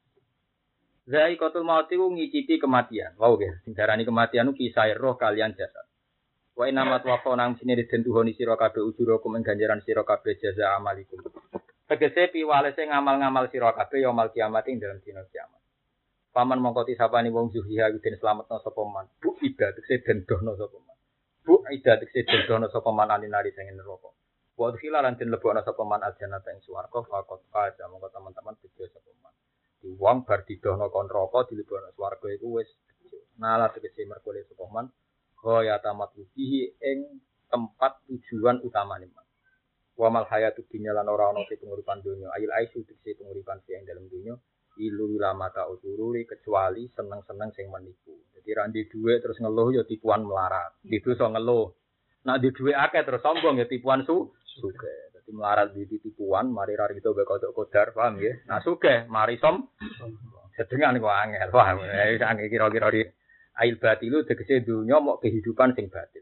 Zai kotul mauti ku ngicipi kematian. Wow nggih, sing darani kematian ku kisah roh kalian jasad. Wa inamat wafa nang sine den tuhoni sira kabeh ujurakum ing ganjaran sira kabeh jaza amalikum. Tegese piwalese ngamal-ngamal sira kabeh ya mal kiamat ing dalam dina kiamat. Paman mongko tisapani wong zuhiha den slametna sapa man. Bu ida tegese den dohna sapa man. Bu ida tegese den dohna sapa man alinari sing neraka. Wa khilalan den lebokna sapa man aljannata ing swarga faqat faza mongko teman-teman bejo sapa man. Di wong bar didohna kon neraka dilebokna swarga iku wis bejo. Nala tegese merkole sapa man kaya tamat ubihi ing tempat tujuan utamane man. Wa mal hayatu dunya lan ora ana penguripan donya ail aisu tegese penguripan sing dalam donya ilu lamata usururi kecuali seneng-seneng sing menipu. Jadi ra ndek dhuwit terus ngeluh ya tipuan melarat. Di dosa ngeluh. Nek ndek dhuwit akeh terus sombong ya tipuan su sugih. Dadi melarat di tipuan mari ra itu gak kodok kodar paham ya. Nah sugih mari som sedengan kok angel paham. Wis angel kira-kira di ail batilu tegese donya mok kehidupan sing batin.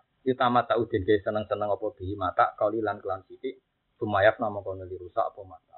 Utama tak udin ge seneng-seneng apa bihi mata kali lan kelan sithik sumayap nama kono dirusak apa mata.